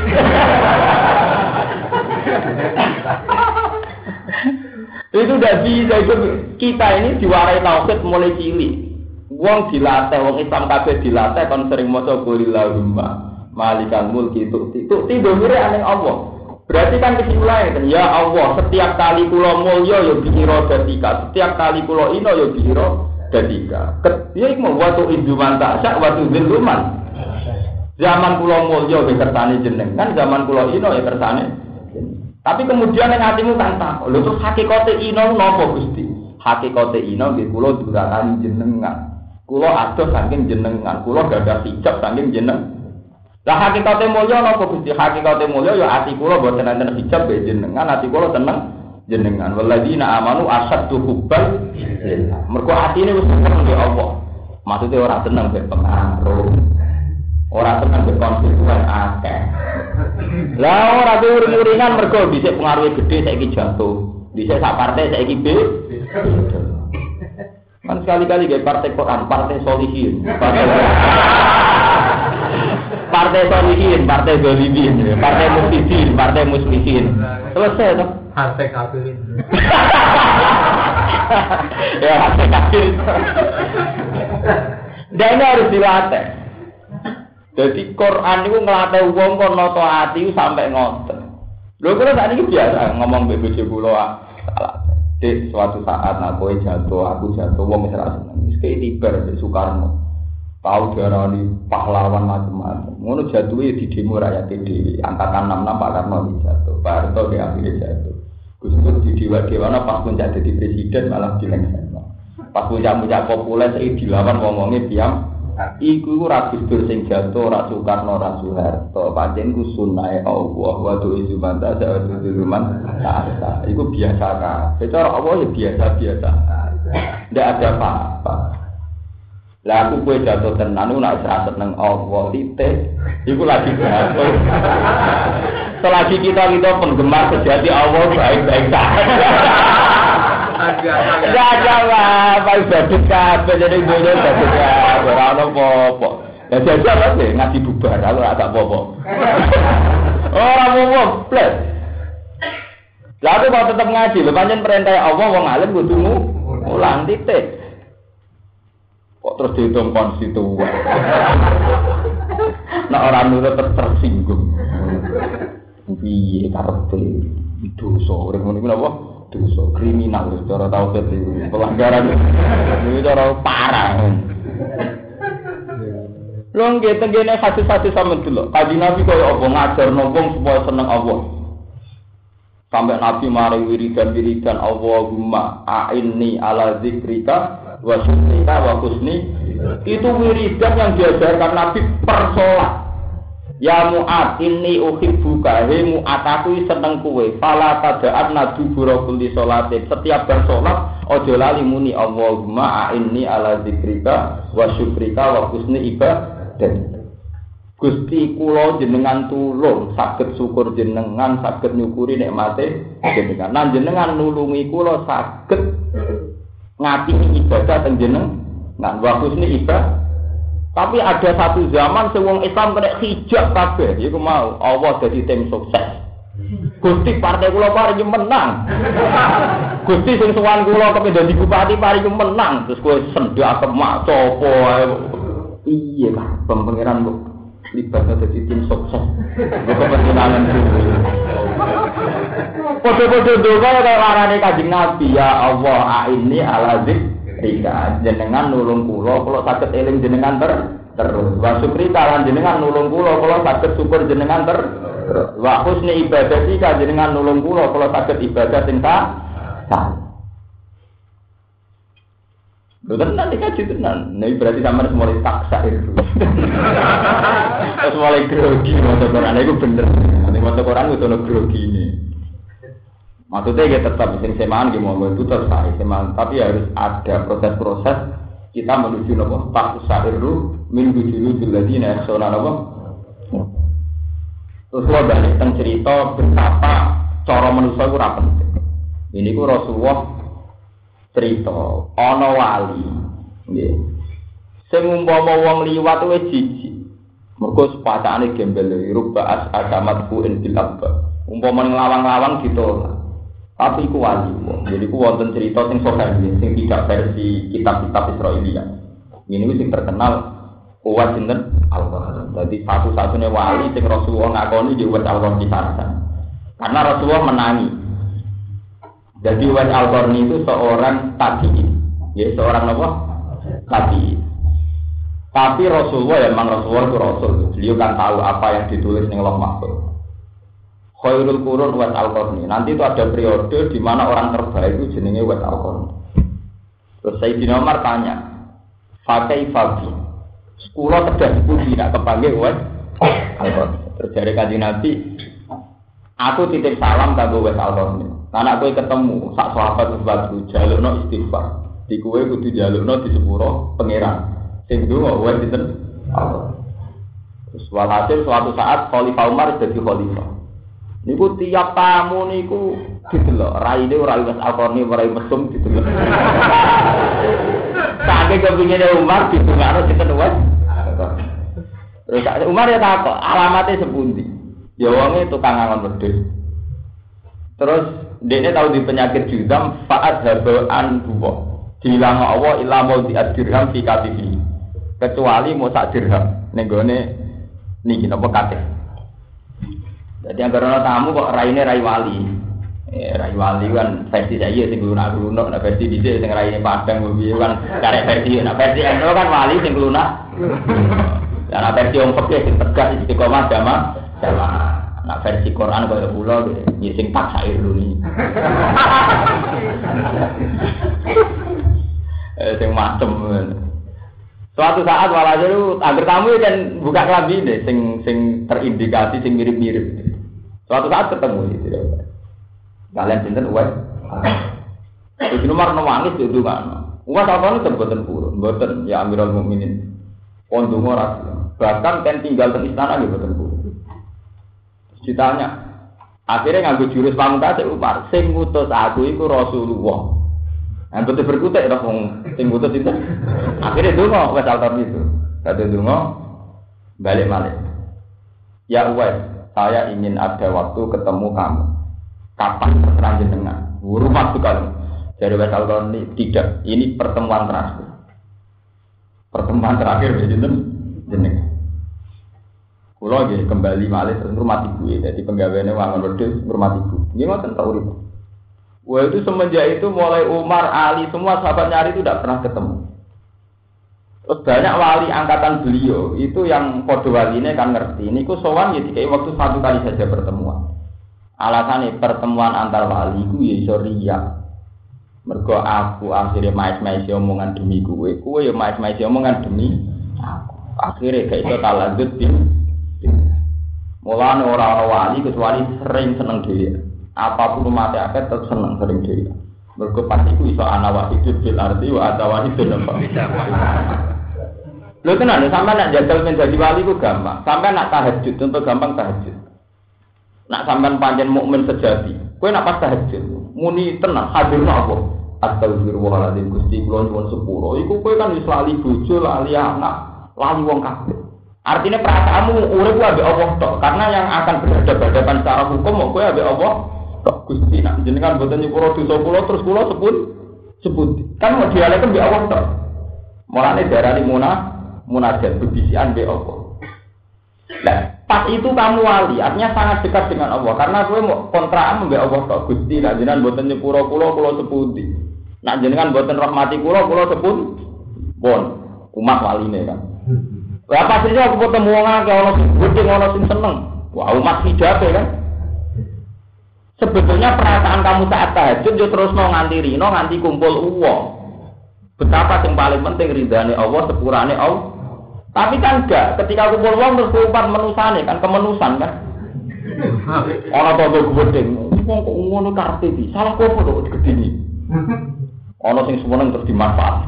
Itu udah bisa, itu kita ini diwarai tauhid mulai cilik. Wong dilatih, wong Islam kabeh dilatih kon sering maca qulillahumma malikal mulki tu'ti domire aning Allah. Berarti kan kesimpulannya kan ya Allah, setiap kali kula mulya ya biro datika, setiap kali kula ina ya biro datika. Ya iku wa tu iduman ta'sa wa tu dzilluman. Zaman kula mulya ya kersane jenengan, zaman kula ina ya kersane. Tapi kemudian yang hatimu kan tak, lho terus hakikate ina napa Gusti? Hakikate ina nggih kula durakani jenengan. Kula adoh saking jenengan, kula gadah hijab saking jenengan. Lah hakikate mulya napa Gusti? Hakikate mulya ya ati kula boten enten hijab be jenengan, ati kula tenang jenengan. Walladzina amanu asyaddu hubban lillah. Mergo atine wis seneng ya Allah. Maksude ora seneng be pengaruh. Ora seneng be konstituen akeh. Lah ora uring-uringan mergo dhisik pengaruhe gedhe saiki jatuh. Dhisik sak partai saiki B. Kan sekali-kali gak partai Quran, partai solihin, partai solihin, partai zalimin, partai mufsidin, partai muslimin. Selesai toh? Partai kafirin. Ya partai kafirin. Dan ini harus dilatih. Jadi Quran itu ngelatih wong kon nata ati sampai ngoten. Lho kula sakniki biasa ngomong mbek bojo kula salah. Di suatu saat aku jatuh, wong wis ra seneng. Wis ketibar mbek Soekarno. Tahu diarani pahlawan macam-macam. Ngono jatuhe di demo rakyat dhewe. Angkatan 66 Pak Karno jatuh. Pak Harto di akhirnya jatuh. Gus Dur di dewa-dewana pas puncak jadi presiden malah dilengsekno. Pas puncak-puncak populer iki dilawan wong-wonge diam. Iku ora Gus Dur sing jatuh, ora Soekarno, ora Soeharto. Pancen ku sunahe Allah wa tu izumanta sa'atu diluman ta'ala. Iku biasa kan. Secara Allah ya biasa-biasa. Ndak ada apa-apa. Lah aku kowe jatuh tenan ku nek ora seneng Allah titik. Iku lagi jatuh. Selagi kita penggemar sejati Allah baik-baik saja. Enggak jawab, apa badut kabeh jadi dunya badut kabeh ora ono apa-apa. Ya jajal ae ngaji bubar aku ora tak apa-apa. Ora apa-apa, plus. Lah aku kok tetep ngaji, lho pancen perintah Allah wong alim kudu mulang titik. Kok terus dihitung konstituen. Nek ora nurut tersinggung. Piye karepe dosa urip ngene iki napa? Dosa kriminal secara tauhid iki. Pelanggaran iki cara parah. Lho nggih tengene hadis-hadis sampeyan delok. Kanjeng Nabi kaya apa ngajarno wong supaya seneng Allah. Sampai Nabi mari wiridan Allahumma a'inni ala zikrika wa syukrika wa husni. Itu wiridan yang diajarkan Nabi per salat. Ya Mu'ad inni uhibbuka he Mu'ad aku seneng kowe. Fala tada'at nadu buraqul sholatin. Setiap bar salat aja lali muni Allahumma a'inni ala zikrika wa syukrika wa husni ibadah. Gusti kula jenengan tulung saged syukur jenengan saged nyukuri nikmate jenengan lan jenengan nulungi kula saged ngapini ibadah teng jenengan wa husni ibadah. Tapi ada satu zaman sing wong Islam kena hijab kabeh iku mau Allah dadi tim sukses. Gusti partai kula paring menang. Gusti sing sowan kula kepen dadi bupati paring menang terus kowe sendak kemak sapa ae. Iya lah, pangeran kok libatnya jadi tim sukses. Kepentingan itu. Podo-podo doa kalau larane Kanjeng Nabi ya Allah a'inni ala zikrika jenengan nulung kula saged eling jenengan terus. Wa syukrika lan jenengan nulung kula saged syukur jenengan terus. Wa husni ibadati ka jenengan nulung kula saged ibadah sing sah. Lho tenan iki kaji tenan. Nah berarti sampeyan mulai taksa itu. Terus mulai grogi maca Quran iku bener. Nek maca Quran kudu ono grogine. Maksudnya ya tetap sing semaan ki monggo itu terus semaan, tapi harus ada proses-proses kita menuju nopo taksa itu min wujudul ladina yakhshawna nopo. Terus kula balik teng cerita betapa cara manusa iku ora penting. Ini ku Rasulullah cerita ana wali nggih sing umpama wong liwat wis jijik mergo sepatane gembel ruba agamat ku bil abba umpama ning lawang-lawang ditolak tapi iku wali jadi ku wonten cerita sing sahih sing tidak versi kitab-kitab Israelia ini sing terkenal kuat sinten Allah dadi satu-satunya wali sing Rasulullah ngakoni di wet Allah kisahkan karena Rasulullah menangi. Jadi Uwais Al-Qarni itu seorang tabi'in, ya seorang apa? Tabi'in. Tapi Rasulullah ya memang Rasulullah itu Rasul. Beliau kan tahu apa yang ditulis di Lauh Mahfuz. Khairul Qurun Uwais Al-Qarni. Nanti itu ada periode di mana orang terbaik itu jenenge Uwais Al-Qarni. Terus Sayyidina Umar tanya, "Fakai Fabi, sekolah terjadi puji tidak kepanggil Uwais Al-Qarni." Terjadi Kanjeng Nabi, aku titip salam kanggo Uwais Al-Qarni. Anak kowe ketemu sak sahabat sebatu jalukno istighfar. Di kowe kudu jalukno di sepuro pangeran. Sing ndonga wae dinten Allah. Terus walhasil suatu saat Khalifah Umar dadi khalifah. Niku tiap tamu niku didelok, raine ora Uwais Al-Qarni ora mesum didelok. Saking kepingine Umar ditungakno sinten Uwais. Terus Umar ya takok, alamate sepundi? Ya wonge tukang angon wedhus. Terus dia tahu di penyakit juzam faat habaan dua dihilang Allah ilamu diadirham fi katifi kecuali mau sak dirham nenggone niki napa katih. Jadi anggaran tamu kok raine rai wali. Rai wali kan versi saya sing lunak-lunak, nah versi dhisik sing raine padang piye kan karek versi. Nah versi endo kan wali sing lunak. Lah versi wong fikih sing tegas istiqomah jamaah. Nah versi Quran kaya kula nggih sing paksa iruni. Sing macem. Suatu saat walhasil agar tamu kan buka kelambi deh sing terindikasi sing mirip-mirip. Suatu saat ketemu gitu. Kalian sinten Uwais? Itu nomor nangis itu kan. Uwais apa itu mboten purun, mboten ya Amirul Mukminin. Pondong ora. Bahkan kan tinggal di istana nggih mboten purun. Ditanya, akhirnya nganggo jurus pamungkas Umar, sing ngutus aku iku Rasulullah. Betul berkutik dah wong sing putus itu. Akhirnya donga wes altar itu. Kata donga balik malik. Ya Uwais, saya ingin ada waktu ketemu kamu. Kapan terserah jenengan? Rumah sekali. Dari wes altar ini tidak. Ini pertemuan terakhir. Pertemuan terakhir jenengan. Kulo nggih kembali malih terus rumah ibu ya. Jadi penggaweane wangun wedhus rumah ibu. Nggih ngoten ta urip. Wah itu semenjak itu mulai Umar, Ali semua sahabat nyari itu tidak pernah ketemu. Terus banyak wali angkatan beliau itu yang kode waline kan ngerti. Ini ku sowan ya dikai waktu satu kali saja pertemuan. Alasannya pertemuan antar wali ku ya iso riya. Mergo aku akhirnya mais-mais omongan demi kowe ya mais-mais omongan demi aku. Akhirnya gak iso talanjut mulane ora wali kecuali sering seneng dhewe. Apapun mati akeh tetep seneng sering dhewe. Mergo pasti ku iso ana wahidul bil arti wa ada wahidul apa. Lho tenan sampean nek jajal men dadi wali ku gampang. Sampean nak tahajud contoh gampang tahajud. Nak sampean pancen mukmin sejati, kowe nak pas tahajud muni tenang hadirna apa? Astagfirullahaladzim Gusti kula nyuwun sepuro. Iku kowe kan wis lali bojo, lali anak, lali wong kabeh. Artinya perasaanmu urip ku ambek Allah tok. Karena yang akan berhadapan secara hukum kowe ambek Allah tok. Gusti nak jenengan boten nyepuro dosa kula terus kula sebut. Kan mau dialek ambek Allah tok. Mulane darani munajat bebisian ambek Allah. Nah, pas itu kamu wali, artinya sangat dekat dengan Allah. Karena kowe mau kontrakan ambek Allah tok. Gusti nak jenengan boten nyepuro kula sepundi. Nak jenengan boten rahmati kula sepun. Pun umat waline kan. Lah pastinya aku ketemu wong akeh ana sing gedhe ana sing seneng. Wah, umat hijab kan. Sebetulnya perasaan kamu saat tahajud yo terusno nganti rino nganti kumpul uang. Betapa yang paling penting ridane Allah sepurane Allah. Tapi kan enggak, ketika kumpul uang terus kumpul menusane kan kemenusan kan. Ana tonggo gedhe. Wong kok ngono karepe iki. Salah kok kok gedhe. Ana sing seneng terus dimanfaat.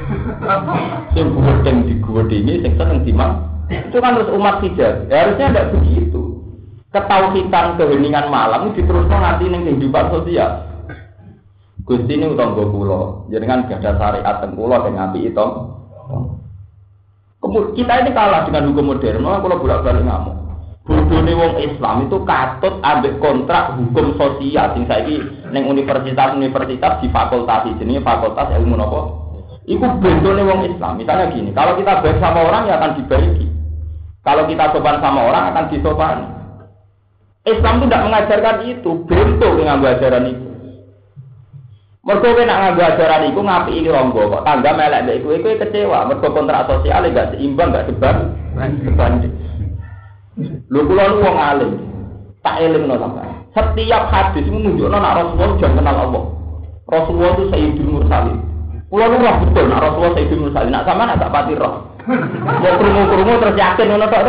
Sing gedeng digedingi, sing seneng dimang. Itu kan terus umat hijab. Harusnya tidak begitu. Ketauhidan keheningan malam diteruskan nanti ning kehidupan sosial. Gusti ini utangga kula, jenengan gadah syariat teng kula sing apik itu. Kemudian kita ini kalah dengan hukum modern. Malah kula bolak-balik ngamuk. Bodone wong Islam itu katut ambek kontrak hukum sosial sing saiki ning universitas di fakultas jenenge fakultas ilmu napa? Iku bentone wong Islam. Misalnya gini, kalau kita baik sama orang ya akan dibaiki. Kalau kita sopan sama orang akan disopani. Islam itu tidak mengajarkan itu, bento nganggo ajaran itu. Mergo kowe nak nganggo ajaran iku ngapiki ronggo kok tangga melek mbek kowe kecewa, mergo kontrak sosial enggak seimbang, enggak sebanding. Lho kula nu wong alim. Tak elingno sampeyan. Setiap hadis menunjukno nek Rasulullah jangan kenal Allah. Rasulullah itu Sayyidul Mursalin. Kula nu roh betul nek Rasulullah Sayyidul Mursalin. Nek sampean agak pati roh. Ya krungu-krungu terus yakin ngono tok to.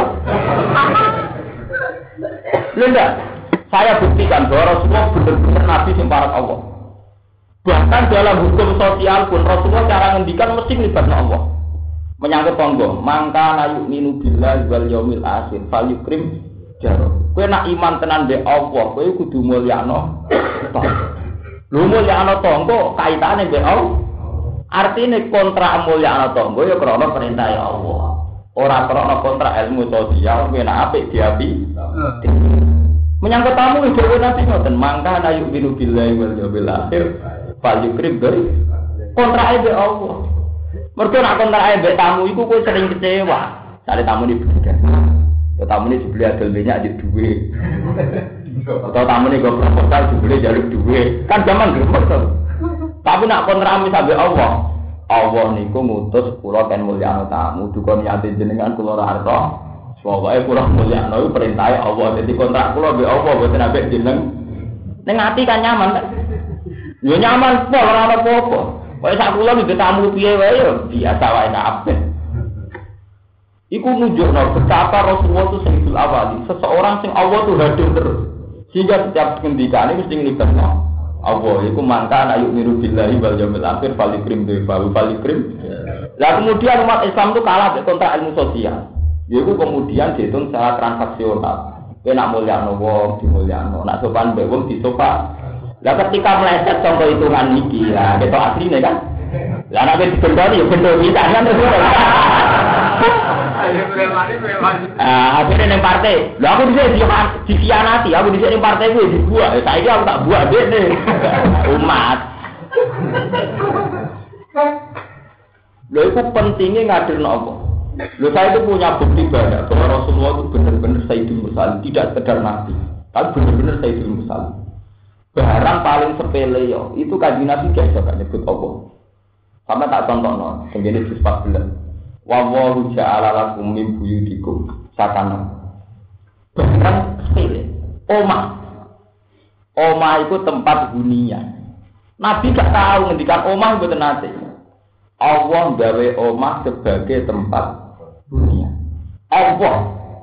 Lho ndak? Saya buktikan bahwa Rasulullah benar-benar nabi sing parek Allah. Bahkan dalam hukum sosial pun Rasulullah cara ngendikan mesti melibatkan Allah. Menyangkut tonggo, mangka nayu minu billahi wal yaumil akhir fal yukrim jaro. Kowe nak iman tenan mbek Allah, kowe kudu mulyano tonggo. Lho mulyano tonggo kaitane mbek Allah. Artine kontrak mulyano tonggo ya krana perintah Allah. Ora krana kontrak ilmu sosial kowe nak apik diapi. Menyangkut tamu dhewe nanti ngoten, mangka nayu minu billahi wal yaumil akhir fal yukrim jaro. Kontrake mbek Allah. Mergo nak kontrak mbek tamu iku kowe sering kecewa. Sare tamu ni berbeda. Ya tamu ni dibeli adol banyak di duwe. Atau tamu ni go proposal dibeli jaluk duwe. Kan zaman gremeng to. Tapi nak kontrak misal mbek Allah. Allah niku ngutus kula ten mulyano tamu duka niate jenengan kula ora arep. Pokoke kula mulyano iku perintahe Allah. Dadi kontrak kula mbek Allah boten ambek jeneng. Ning ati kan nyaman kan. Yo nyaman kok ora ana apa-apa. Kaya sak kula iki tamu piye wae ya biasa wae kabeh. Iku nunjukno betapa Rasulullah itu sayyidul awali, seseorang sing Allah tuh hadir terus. Sehingga setiap ngendikane mesti nglibatno Allah. Iku mangka ayu miru billahi wal yaumil akhir falikrim falikrim. Lah kemudian umat Islam itu kalah dengan kontrak ilmu sosial. Yaiku kemudian dihitung secara transaksional. Kowe nak mulyano wong dimulyano, nak sopan mbek wong disopan. Lah ketika meleset contoh hitungan iki, lah ketok asline kan. Lah nek digendoni yo bendo bisa kan terus. Ayo preman. Akhirnya ning partai. Lah aku dhisik dikhianati, aku dhisik ning partai kuwi dibuat. Saiki aku tak buat dekne. Umat. Lha itu pentingnya ngadirno apa? Lha saya itu punya bukti banyak bahwa Rasulullah itu benar-benar Sayyidul Mursalin, tidak sekedar nabi, tapi benar-benar Sayyidul Mursalin. Barang paling sepele yo, itu kanjeng Nabi gak iso nyebut apa. Sama tak contohno, tengene juz 14. Wa wallahu ja'ala lakum min buyutikum sakana. Barang sepele. Omah itu tempat hunian. Nabi gak tahu ngendikan omah mboten nate. Allah gawe omah sebagai tempat hunian. Allah.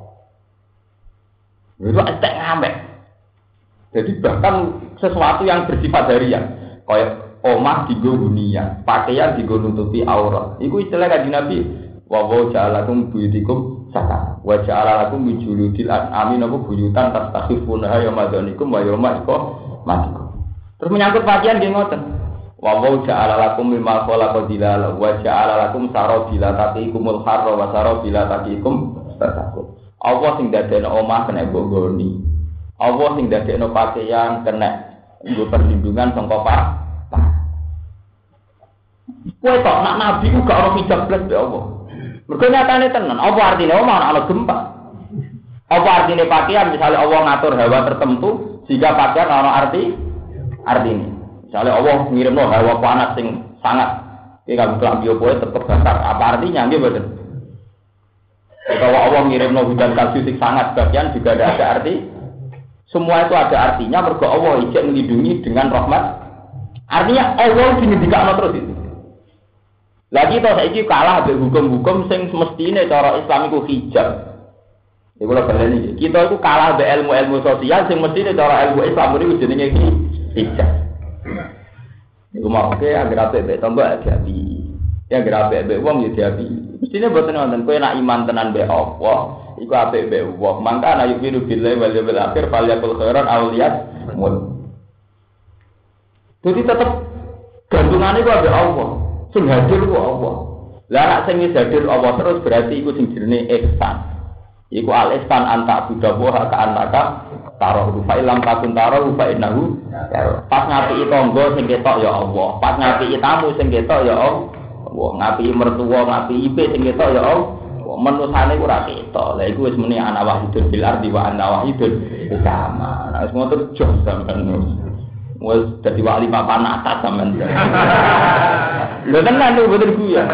Itu estek ngambek. Jadi bahkan sesuatu yang bersifat harian, kayak omah digo hunian, pakaian digo nutupi aurat. Iku istilah kanjeng Nabi. Wa ja'alakum buyutikum sakana. Wa ja'alakum min juludil an'ami napa buyutan tastakhifuna ya madanikum wa yawma iqamatikum. Terus menyangkut pakaian nggih ngoten. Wa ja'alakum mimma khalaqa dilala wa ja'alakum sarabila taqikumul harra wa sarabila taqikum tatakun. Allah sing dadekno omah kena bonggoni. Allah sing dadekno pakaian kena nggo perlindungan sangka pak. Kowe kok nak nabi ku gak ono hijab blas be Allah. Mergo nyatane tenan, apa artine omah ana gempa? Apa artine pakaian misalnya Allah ngatur hawa tertentu sehingga pakaian ana artine. Misalnya Allah ngirimno hawa panas sing sangat iki kan klambi opo tetep basar. Apa artinya nggih mboten? Kalau Allah ngirimno hujan salju sing sangat bagian juga ada arti. Semua itu ada artinya mergo Allah ijek melindungi dengan rahmat. Artinya Allah dingendikakno terus itu. Lagi to saiki kalah ambek hukum-hukum sing semestine cara Islam iku hijab. Iku lho baleni. Kita iku kalah ambek ilmu-ilmu sosial sing mestine cara ilmu Islam niku jenenge hijab. Iku mau oke agar apik tambah api. Ya agar apik wong ya diapi. Mestine boten wonten kowe nak iman tenan mbek Allah. Iku apik mbek wong. Mangka ana yufiru billahi wal yawmil akhir falyakul khairan aw liyasmut. Jadi tetep gantungane ku ambek Allah. Sing hadir ku Allah. Lah nek sing hadir Allah terus berarti iku sing jenenge ihsan. Iku al ihsan anta budawa ka anaka taruh fa ilam takun taruh fa innahu. Pas ngapiki tangga sing ketok ya Allah. Pas ngapiki tamu sing ketok ya Allah. Ngapiki mertua, ngapiki ipe sing ketok ya Allah. Menusane ora ketok. Lah iku wis muni ana wahidun bil ardi wa ana wahidun sama. Nah wis ngoten jos sampean. Wes dadi wali papan atas sampean. Lho tenan lho bener guya.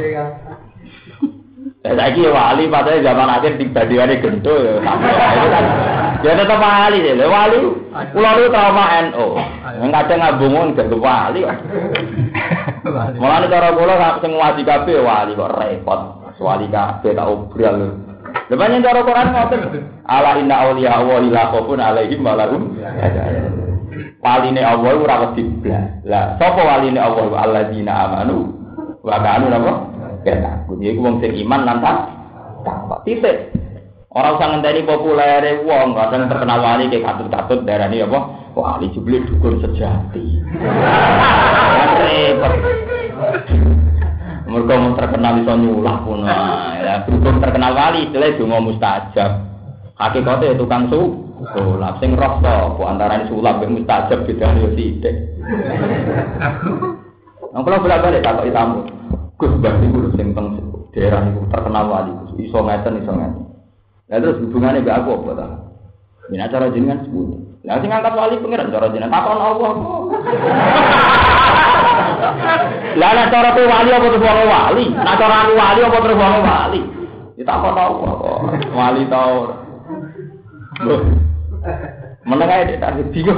Saiki wali padahal zaman akhir dibandingane gento ya. Itu kan. Ya tetep wali lho. Wali kula lu trauma NU. Kadang ngabungun gak wali kok. Mulane cara kula sing wali kabeh wali kok repot. Wali kabeh tak obral lho. Lha pancen cara Quran ngoten. Ala inna auliya wa la khaufun alaihim wa lahum yahzanun. Waline Allah ora wedi blas. Lah sapa waline Allah alladzina amanu wa kanu napa? Ya takut. Iku wong sing iman lan takwa. Titik. Ora usah ngenteni populere wong, kadang terkenal wali kayak katut-katut darani apa? Wali jebule dukun sejati. Repot. Mergo mun terkenal iso nyulah pun. Ya dukun terkenal wali istilah donga mustajab. Hakikate tukang sulap sing roh sapa antarané sulap mek mustajab bedane yo sithik. Nang kula bolak-balik takoki tamu. Gus Mbah niku sing teng daerah niku terkenal wali iso ngeten. Lah terus hubungane mbek aku apa ta? Yen acara jenengan sepuh. Lah sing ngangkat wali pengiran cara jenengan takon Allah. Lah nek cara ku wali apa terus wali? Nek cara aku wali apa terus wali? Ditakon Allah kok. Wali ta ora? Meneng ae tak bingung.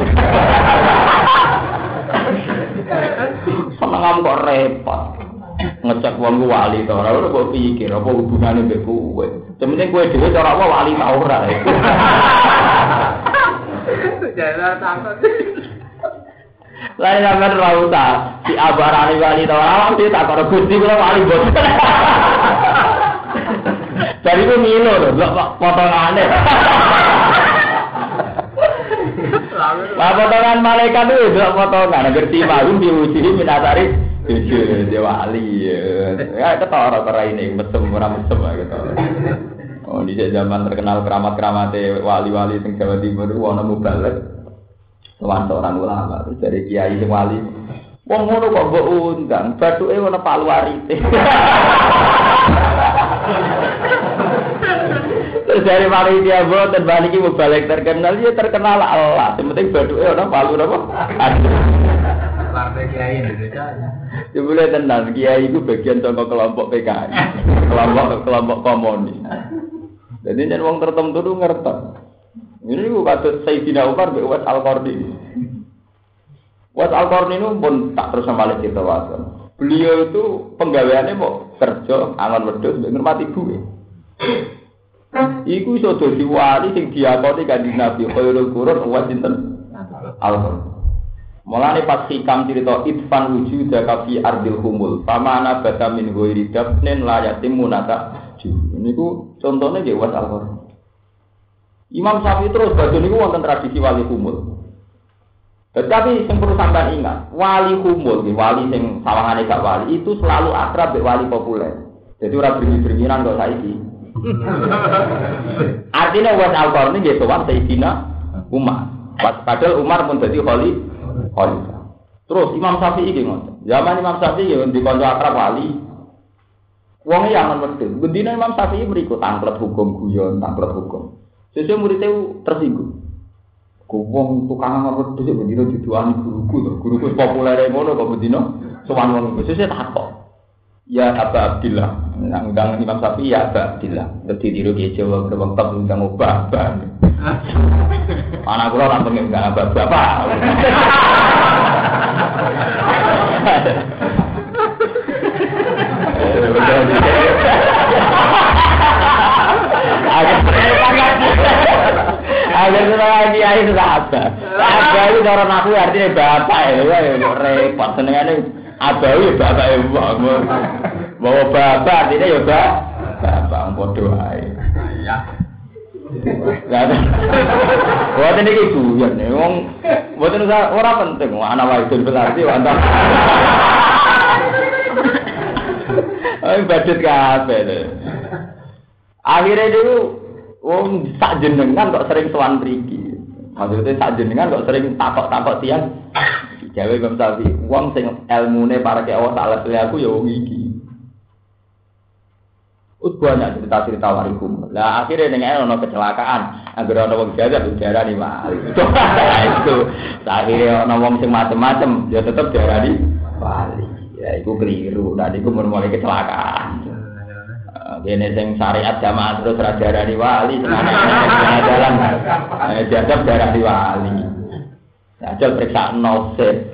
Seneng kok repot. Ngecek wong ku wali ta ora kok pikir apa hubungane mbek kowe. Sementing kowe dhewe cara apa wali ta ora. Jalan takut. Lain sampean ora usah diabarani wali ta ora mesti tak karo Gusti kula wali bos. Dari ku milo lho, potongane. Lah potongan malaikat itu delok potongan ngerti malu diuji minatari dia wali ya ketara ini mesem ora mesem gitu. Oh di zaman terkenal keramat-keramate wali-wali sing Jawa Timur ku ana mubalek. Sowan orang ulama terus dari kiai sing wali. Wong ngono kok mbok undang, bathuke ana paluarite. Terus dari mari dia boten balik iki mubalek terkenal ya terkenal Allah. Yang penting bathuke ana palu napa? Partai kiai Indonesia. Jebule tenan kiai iku bagian saka kelompok PKI. Kelompok komunis. Jadi yen wong tertentu tu ngerti. Ini ku kados Sayyidina Umar mbek Uwais Al-Qarni. Uwais Al-Qarni itu pun tak terus samale cerita wae. Beliau itu penggaweane mau kerja angon wedhus mbek ngurmati duwe. Iku iso dadi wali sing diakoni Kanjeng Nabi khairul qurun Uwais sinten? Al-Qarni. Mulane pas hikam cerita itfan wujudaka fi ardil humul famana bata min ghairi dafnin la yatimunata. Niku contohnya nggih Uwais Al-Qarni. Imam Syafi'i terus badhe niku wonten tradisi wali humul. Tetapi sing perlu sampean ingat, wali humul, wali sing sawangane gak wali itu selalu akrab mbek wali populer. Jadi ora beringi-beringiran kok saiki. Artinya Uwais Al-Qarni nggih sowan Sayyidina Umar. Padahal Umar pun dadi khalifah. Terus Imam Syafi'i nggih ngoten. Zaman Imam Syafi'i nggih dikonco akrab wali. Wong yang aman wedhus. Gendine Imam Syafi'i mriku tanglet hukum guyon, tanglet hukum. Sesuk murid-e tersinggung. Wong tukang aman wedhus bendina diduani guruku to. Guruku populere ngono kok bendina sowan wong iku. Sesuk takok. Ya Aba Abdillah. Nang undang Imam Syafi'i ya Aba Abdillah. Dadi tiru ki Jawa wong tak undang obah. Anak kula ora pengen undang bapak. Agar lagi air sudah apa? Abawi orang aku artinya bapak ya, repot senengane abawi bapak ya bawa bapak artinya ya bapak bodoh ae. Ya. Buat ini guyon nih, buat ini orang penting, anak wajib berarti antara. Badut kabeh lho. Akhire dulu wong sak jenengan kok sering sowan mriki. Maksudnya sak jenengan kok sering takok-takok tiyang. Jawe Imam Syafi'i, wong sing elmune parake Allah taala aku ya wong iki. Banyak cerita-cerita warikum. Lah akhirnya dengan ono kecelakaan, anggere ono wong jagat diarani wali. Itu. Akhirnya ono wong sing macem-macem, ya tetep diarani wali. Ya iku keliru, dan iku mulai kecelakaan. Dene sing syariat jamaah terus ra diarani wali, ana jalan. Dianggap diarani wali. Ajal periksa nose.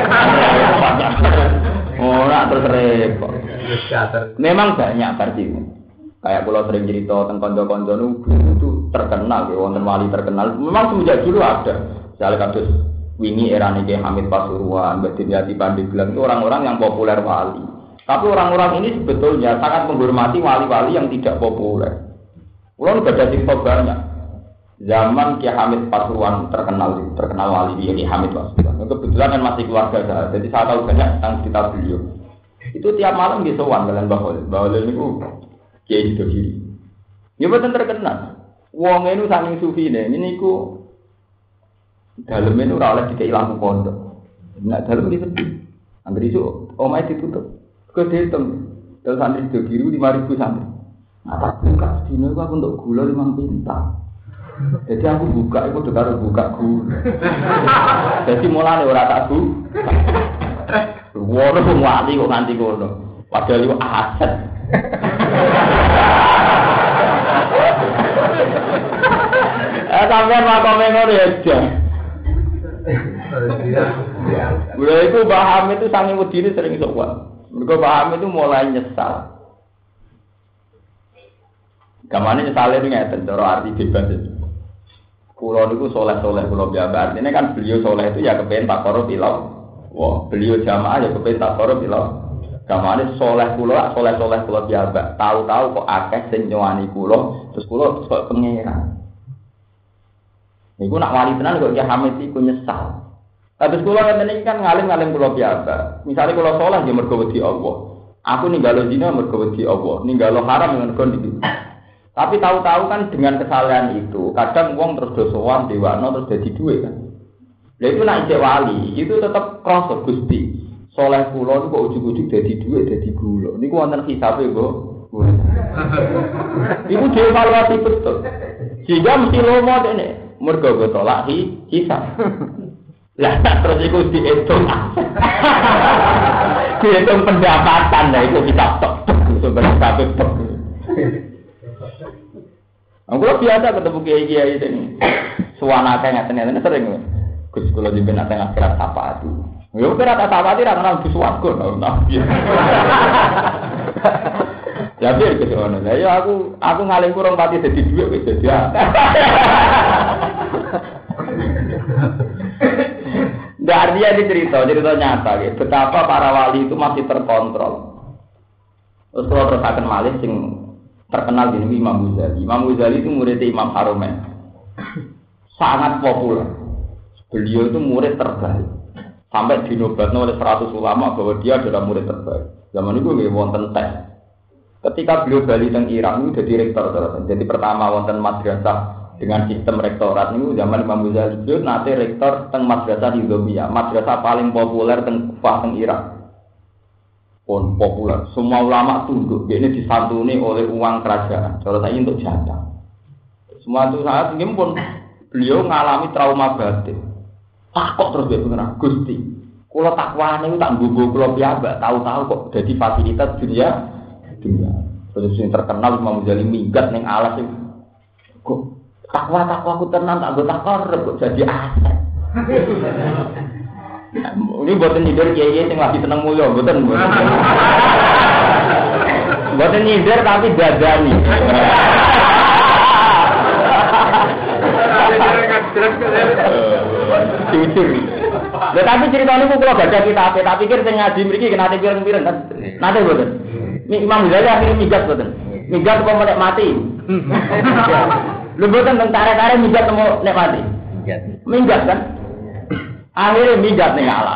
Ora terus repot. Memang banyak versi. Kayak kalau sering cerita tentang konco-konco itu terkenal, wonten wali terkenal. Memang semenjak dulu ada. Misalnya kasus wingi era niki Hamid Pasuruan, Mbak Dimyati Pandeglang itu orang-orang yang populer wali. Tapi orang-orang ini sebetulnya sangat menghormati wali-wali yang tidak populer. Ulang ada cerita banyak. Zaman Kiai Hamid Pasuruan terkenal wali Kiai Hamid Pasuruan. Kebetulan kan masih keluarga saya, jadi saya tahu banyak tentang cerita beliau. Itu tiap malam di sowan kalian Bahol itu Kiai itu kiri. Ya betul terkenal. Wong itu saking sufi ini ku dalam itu ora oleh dikei lampu pondok. Nak dalam di sepi. Angger iso omahe ditutup. Kok dihitung. Dalam santri itu kiri 5.000 santri. Nah, tak buka dino aku untuk gula 5 pintal. Jadi aku buka itu udah harus buka gula. Jadi mulane ora tak bu. Wono wong wali kok nganti kono. Padahal iku aset. Sampeyan makome ngono ya, Jan. Gula itu paham itu sange wedine sering sowan. Mergo paham itu mulai nyesal. Gamane nyesale ngeten cara arti bebas itu. Kulo niku soleh-soleh kulo biasa. Artinya kan beliau soleh itu ya kepen tak korup ilau. Wah, beliau jamaah ya kepen tak korup ilau. Gamane soleh kulo biasa. Tahu-tahu kok akeh sing nyowani kulo, terus kulo kok pengeran. Niku nak wali tenan kok Ki Hamid iku nyesal. Terus kula ngeten iki kan ngalim-ngalim kula biasa. Misale kula salat ya mergo wedi Allah. Aku ninggalo zina mergo wedi Allah, ninggalo haram mergo iki. Tapi tahu-tahu kan dengan kesalahan itu, kadang wong terus dosowan dewano terus dadi dhuwit kan. Lha itu nak ijek wali, itu tetep krasa Gusti. Saleh kula kok ujug-ujug dadi dhuwit dadi gula. Niku wonten hisabe kok. Iku dievaluasi betul. Sehingga mesti lomo dene. Mergo tolak hisab. Lah terus iku dihitung. Dihitung pendapatan lah itu kita tok sebenarnya kabeh tok. Aku biasa ketemu kiai-kiai ini. Suwana kae ngaten-ngaten sering. Gus kula jemben nate akhirat sapati. Yo kira tak sapati ra kenal Gus warga nabi. Ya biar ke sana. Lah ya aku ngalim kurang pati dadi dhuwit wis dadi. Nggak artinya cerita nyata gitu. Betapa para wali itu masih terkontrol. Terus kalau terus akan malih sing terkenal di Imam Ghazali. Imam Ghazali itu muridnya Imam Haromen. Sangat populer. Beliau itu murid terbaik. Sampai dinobatkan oleh 100 ulama bahwa dia adalah murid terbaik. Zaman itu nggih wonten tes. Ketika beliau bali teng Irak itu jadi rektor terus. Jadi pertama wonten madrasah dengan sistem rektorat ini zaman Imam Ghazali itu nanti rektor teng madrasah Nizamiyah, madrasah paling populer teng Kufah teng Irak. Pun populer, semua ulama tunduk. Ini disantuni oleh uang kerajaan. Kalau saya untuk jatah. Semua itu saat ini pun beliau mengalami trauma batin. Takut terus dia benar Gusti. Kalau takwa ini tak gugur kalau biasa tahu-tahu kok jadi fasilitas dunia. Terus yang terkenal Imam Ghazali minggat neng alas itu. Kok takwa aku tenang tak gue takor kok jadi aset. Ini buatan nyindir kiai yang lagi seneng mulia, buatan. Buatan nyindir tapi dadani. Jujur. Lah tapi ceritanya kok kalau baca kitab, tak pikir sing ngaji mriki kena pireng-pireng kan. Nate buatan. Imam Ghazali akhirnya migat buatan. Migat apa melek mati. Lu buatan tentara-tara migat mau nek mati. Minggat kan? Akhirnya migat ning alas.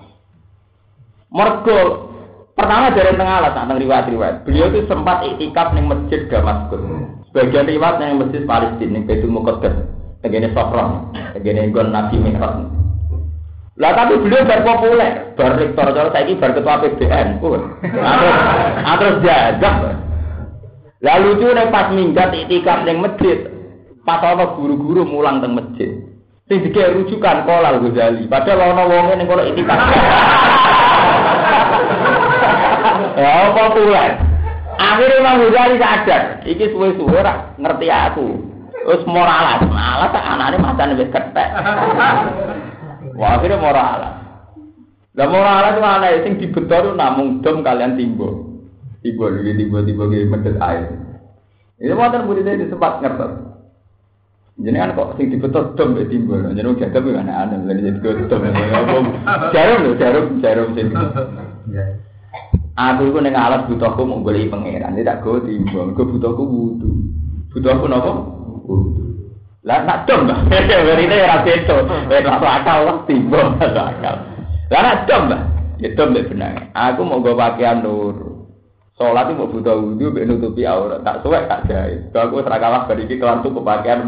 Mergo pertama dari tengah alas tentang riwayat-riwayat. Beliau itu sempat iktikaf ning masjid Damaskus. Sebagian riwayat ning masjid Palestina ning Baitul Muqaddas, tegene Sofron, tegene nggon Nabi Mi'raj. Lah tapi beliau bar populer, bar rektor cara saiki bar ketua PBN. Terus jajak. Lalu lucu nek pas minggat iktikaf ning masjid. Pas ana guru-guru mulang teng masjid. Sing dikek rujukan Kolal Ghazali. Padahal ana wonge ning kono itikaf. Ya populer. Akhirnya Imam Ghazali sadar, iki suwe-suwe ora ngerti aku. Wis malas tak anane macane wis kethek. Wah, akhirnya moralas. Lah moralas itu ana sing dibetor namung dom kalian timbul. Timbul ge medhet air. Ini wonten murid saya sempat ngertos. Jenengan kok sing dibetot dom mbek timbul. Jeneng jadab yo aneh-aneh lha jadi dom. Jarum sing. Aku iku ning alas butuhku mau goleki pangeran, tak go timbul. Go butuhku wudu. Butuhku napa? Wudu. Lah tak dom. Werine ora beto. Wis akal lah timbul akal. Lah nak dom, ya dom mbek benang. Aku mau go pakaian nur. Salat itu butuh wudu mbek nutupi aurat. Tak suwek tak jahit. Aku ora kalah bar iki kelan tuku pakaian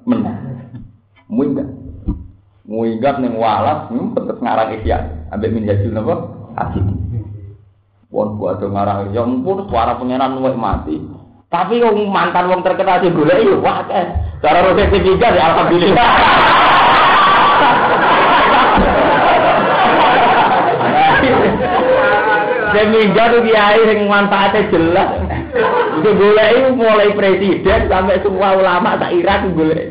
Muinggat ning walas tetep ngarang isya ambek minjajul napa asik wong buat ngarang ya ampun suara pangeran luwih mati tapi wong mantan wong terkenal sing golek yo wah cara rote tiga ya alhamdulillah seminggu tuh kiai sing manfaatnya jelas itu golek mulai presiden sampai semua ulama tak Irak golek.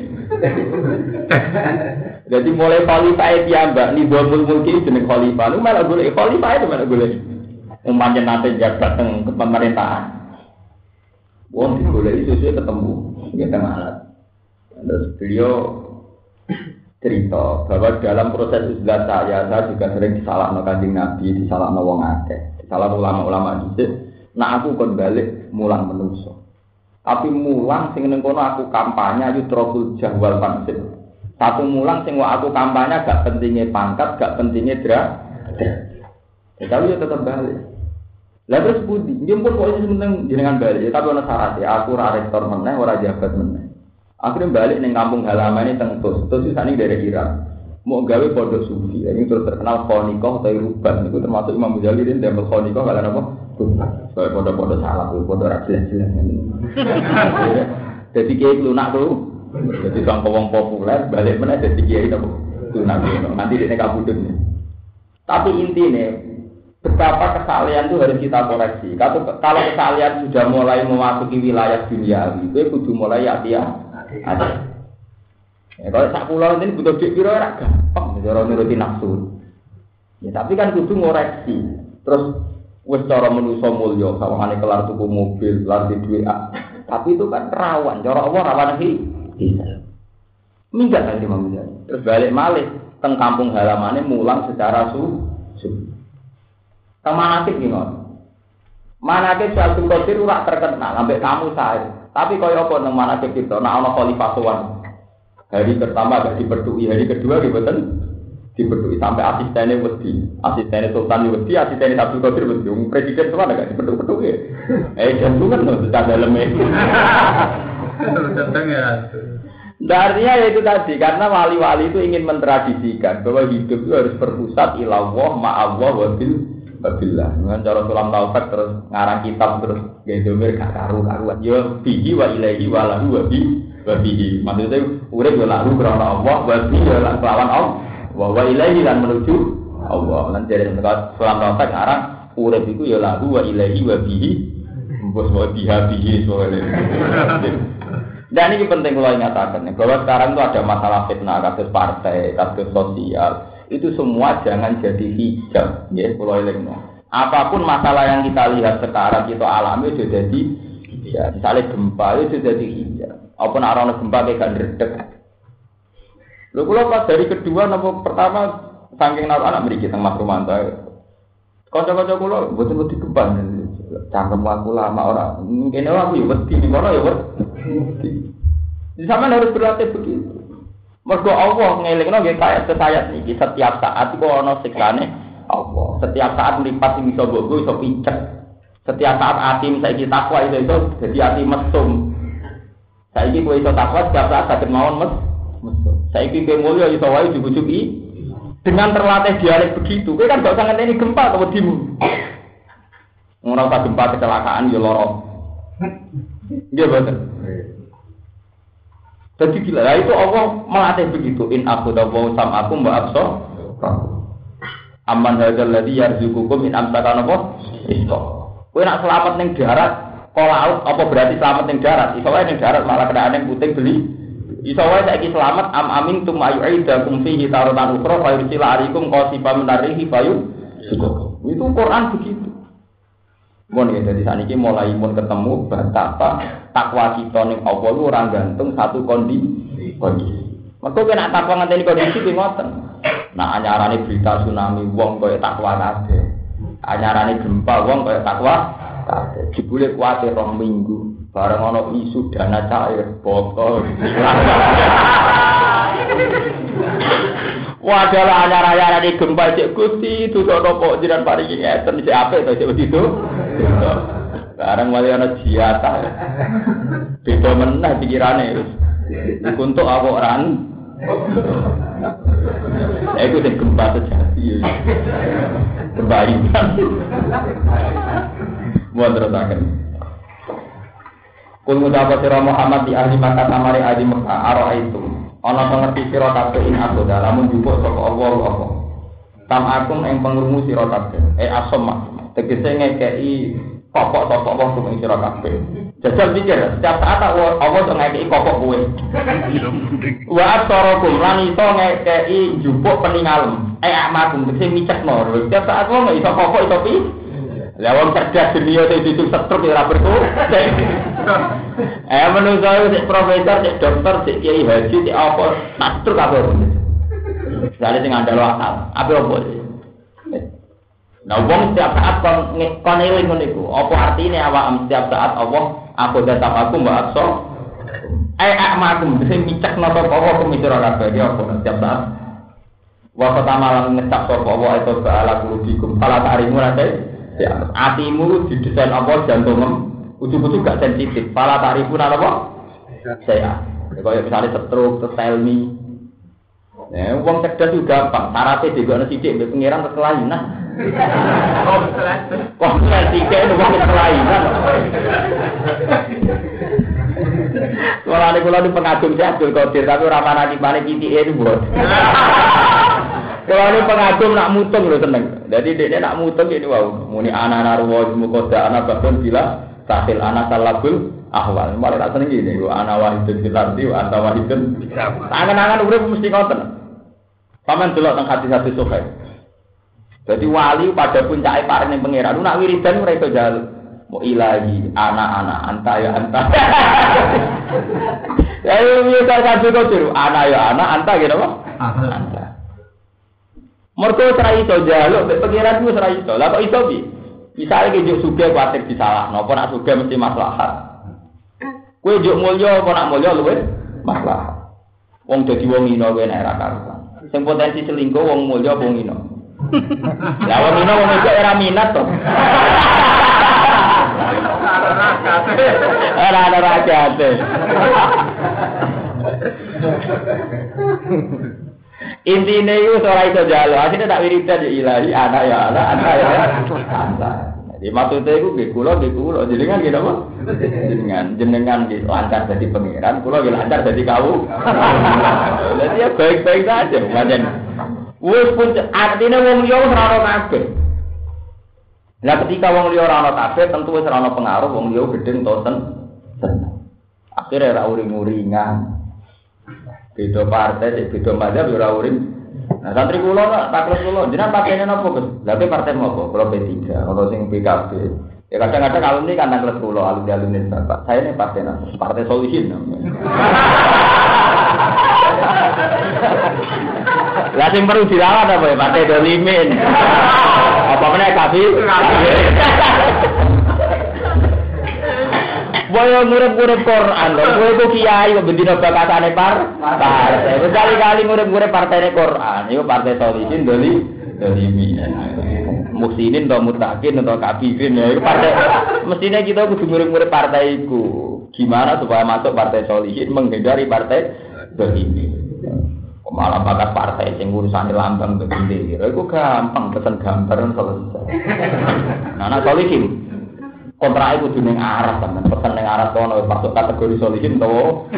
Jadi mulai khalifah piyambak nizamul mulki jeneng khalifah. Lu malah golek khalifah itu malah golek. Umpamane nanti jabat teng pemerintahan. Wong digoleki sesuai ketemu kita alat. Terus beliau cerita bahwa dalam proses izlah saya juga sering disalahno Kanjeng Nabi, disalahno wong akeh, disalahno ulama-ulama dhisik. Nah aku kon balik mulang menungso. Tapi mulang sing ning kono aku kampanye ayu trokul jahwal pancen. Satu mulang sing aku kampanye gak pentingnya pangkat, gak pentingnya derajat. Tapi yo tetep balik. Lah terus budi, dia pun kok penting jenengan balik, ya, tapi ana syaratnya. Aku ora rektor meneh, ora jabat meneh. Akhirnya balik ning kampung halaman ini teng Tus iki dari Irak. Mau gawe pondok sufi, ini terus terkenal Khonikoh atau Ruban, itu termasuk Imam Ghazali dan Dambel Khonikoh kalian apa? Soal pondok-pondok salah, pondok rajilan-jilan. Jadi kiai lunak tuh, jadi sang wong populer balik mana jadi kiai itu lunak nanti di kabudut. Tapi intinya betapa kesalahan itu harus kita koreksi. Kalau kesalahan sudah mulai memasuki wilayah dunia, itu kudu mulai hati-hati. Ya, kalau sak pulau ini butuh duit piro ora gampang, cara nuruti nafsu. Ya tapi kan kudu ngoreksi. Terus wis cara manusa mulya, sawangane kelar tuku mobil, kelar di duit. Tapi itu kan rawan, cara Allah rawan iki. Minggat kan Imam Ghazali. Terus balik malih teng kampung halamane mulang secara suci. Teng manakib iki ngono. Manakib Syaikhul Qadir ora terkenal ambek kamu saya. Tapi kaya apa nang manakib kita, nek ana khalifah sowan. Hari pertama agak diperdui, hari kedua diboten diperdui sampai asistennya wedi, asistennya Sultan wedi, asistennya Abdul Qadir wedi, presiden semua agak diperdui. Jantungan loh, sudah dalamnya. Datang ya. Artinya ya itu tadi, karena wali-wali itu ingin mentradisikan bahwa hidup itu harus berpusat ilallah, ma'allah, wabillah. Dengan cara sulam taufik terus ngarang kitab terus gedomir gak karu-karuan. Ya bihi wa ilaihi wa lahu wa bihi. Maksudnya urip ya lahu karena Allah, wa bihi ya lawan Allah. Wa ilaihi lan menuju Allah. Lan dari sulam taufik ngarang urip iku ya lahu wa ilaihi wa bihi. Bos wa bihi soalnya. Dan ini penting kalau ingatakan bahwa sekarang itu ada masalah fitnah, kasus partai, kasus sosial. Itu semua jangan jadi hijab, ya, kalau ilmu. Apapun masalah yang kita lihat sekarang kita alami itu jadi hijab. Misalnya gempa itu jadi hijab. Apapun arah gempa kayak gak redek. Lalu kalau pas dari kedua, nomor pertama saking naruh anak beri kita Mas Romanto. Kocok-kocok kalau betul-betul gempa. Cangkem aku lama orang. Mungkin aku ya wedi, ini kono ya wedi. Di sana harus berlatih begitu. Mergo Allah ngelingno nggih kaya sesayat niki setiap saat iku ana siksane Allah. Setiap saat mripat sing iso mbokku iso pincet. Setiap saat ati saiki takwa iso dadi ati mesum. Saiki kowe iso takwa setiap saat saged mawon mesum. Saiki kowe mulya iso wae jujuki dengan terlatih dialek begitu. Kowe kan gak usah ngenteni gempa to wedimu. Ora usah gempa kecelakaan ya lara. Nggih boten. Jadi gila, lah itu Allah melatih begitu. In aku dawu sam aku mbak abso. Aman hadzal ladzi yarzuqukum in amsaka napa? Iso. Kowe nak selamat ning darat, kok laut apa berarti selamat ning darat? Iso wae ning darat malah kedaane puting beli. Iso wae saiki selamat am amin tum ayuidakum fihi taratan ukhra fa yursila alaikum qasifam narihi fayu. Itu Quran begitu. Mun ya dadi saniki mulai mun ketemu betapa takwa kita ning Allah lu ora gantung satu kondisi. Mergo nek takwa ngenteni kondisi ki ngoten. Nah anyarane berita tsunami wong kaya takwa kabeh. Anyarane gempa wong kaya takwa kabeh. Jebule kuwate 2 minggu bareng ana isu dana cair bokol. Wadalah anyar-anyarane gempa cek Gusti tutuk kok jiran paringi ngeten sik apik to cek itu. Barang wali ana jiata. Beda meneh pikirane wis. Untuk apa ran? Iku sing gempa sejati. Kebaikan. Mun terusaken. Kul mudhafa sira Muhammad di ahli Makkah amare ahli Makkah ara itu. Ana pengerti sira kabeh ing aku dalam njupuk saka Allah apa. Tam akum ing pengrungu sira kabeh. Asma. Tegese ngekeki pokok-pokok wong sing sira kabeh. Jajal pikir, setiap saat Allah to ngekeki pokok kowe. Wa asarakum lan iso ngekeki njupuk peningalem. Amakum tegese micekno. Setiap saat wong iso pokok iso pi. Lah wong cerdas dunia itu setruk ora berku. Menungso sik profesor, sik dokter, sik kiai haji, sik apa, setruk kabeh. Lha sing ngandalo akal. Apa opo? Nah, wong setiap saat kon eling ngono iku. Apa artine awak setiap saat Allah aku datang aku mbak akso. makum sing micek napa apa kumisira kabeh iki apa setiap saat. Wa fatamalan ngecap sapa wa itu ba'ala kulubikum fala ta'rimu rate. Ya, atimu didesain apa jantungem ujug-ujug gak sensitif. Fala ta'rifu napa? Saya. Kaya misalnya stroke, telmi. Ya, wong cerdas juga gampang. Syaratnya digone sithik mbek pengiran kekelainan. Wong sithik wong kekelainan. Kalau kula di pengagum saya Abdul Qadir tapi ora manani balik titike niku. Kalau ini pengagum nak mutung lho seneng. Jadi dia nak mutung ini wow. Muni ana narwa mukoda ana bakun bila tahil ana salabul ahwal. Mari tak seneng iki ana wahidun fil ardi wa anta wahidun. Angan-angan urip mesti ngoten. Paman delok teng hati-hati sokai. Jadi wali pada puncake pareng pangeran nak wiridan ora iso njaluk. Mau ilahi anak-anak anta ya anta. Ayo kita kabeh kok anak ya anak anta gitu apa? Anta. Mergo ora iso njaluk mek pangeran wis ora iso. Lah kok iso piye? Misale ki juk sugih kuwatir disalahno, apa nak sugih mesti maslahat. Kowe juk mulya apa nak mulya luwih maslahat. Wong dadi wong ina kowe nek ora karuan. Sing potensi selingkuh wong mulya wong ina. Lah wong ina wong iso ora minat to. Ada rakyat. Intinya itu ora iso jalo. Asline tak wiridan ya ilahi anak ya anak ya anak. Jadi maksudnya itu nggih kula jenengan nggih napa? Jenengan nggih lancar dadi pangeran, kula nggih lancar dadi kawula. Jadi ya baik-baik saja pancen. Wis pun artine wong liya ora ono kabeh. Lah ketika wong liya ora ana kabeh tentu wis ora ana pengaruh wong liya gedeng to seneng. Akhire ora uring-uringan. Beda partai, beda mazhab ora uring. Nah santri kula tak kula jenengan partene napa Gus? Lah partai napa? Kula P3, ono sing PKB. Ya kadang-kadang alumni kan nang kelas kula alumni Bapak. Saya ini partai Solihin namanya. Lah sing perlu dilawan apa ya partai Dolimin. Apa meneh kabeh? Boyo ngurip-ngurip Quran lho. Kowe kok kiai kok bendina bakatane partai. Kali-kali ngurip-ngurip partene Quran. Iku partai Solihin Dolimin. Muksinin atau mutakin atau kafirin ya. Iku partai mestinya kita kudu ngurip-ngurip partai iku. Gimana supaya masuk partai Solihin menghindari partai Dolimin. Malah bakat partai sing urusane lambang bendera iku gampang pesen gambar selesai. Nah Solihin kontrake kudu ning Arab kan pesen ning Arab kono masuk kategori Solihin to.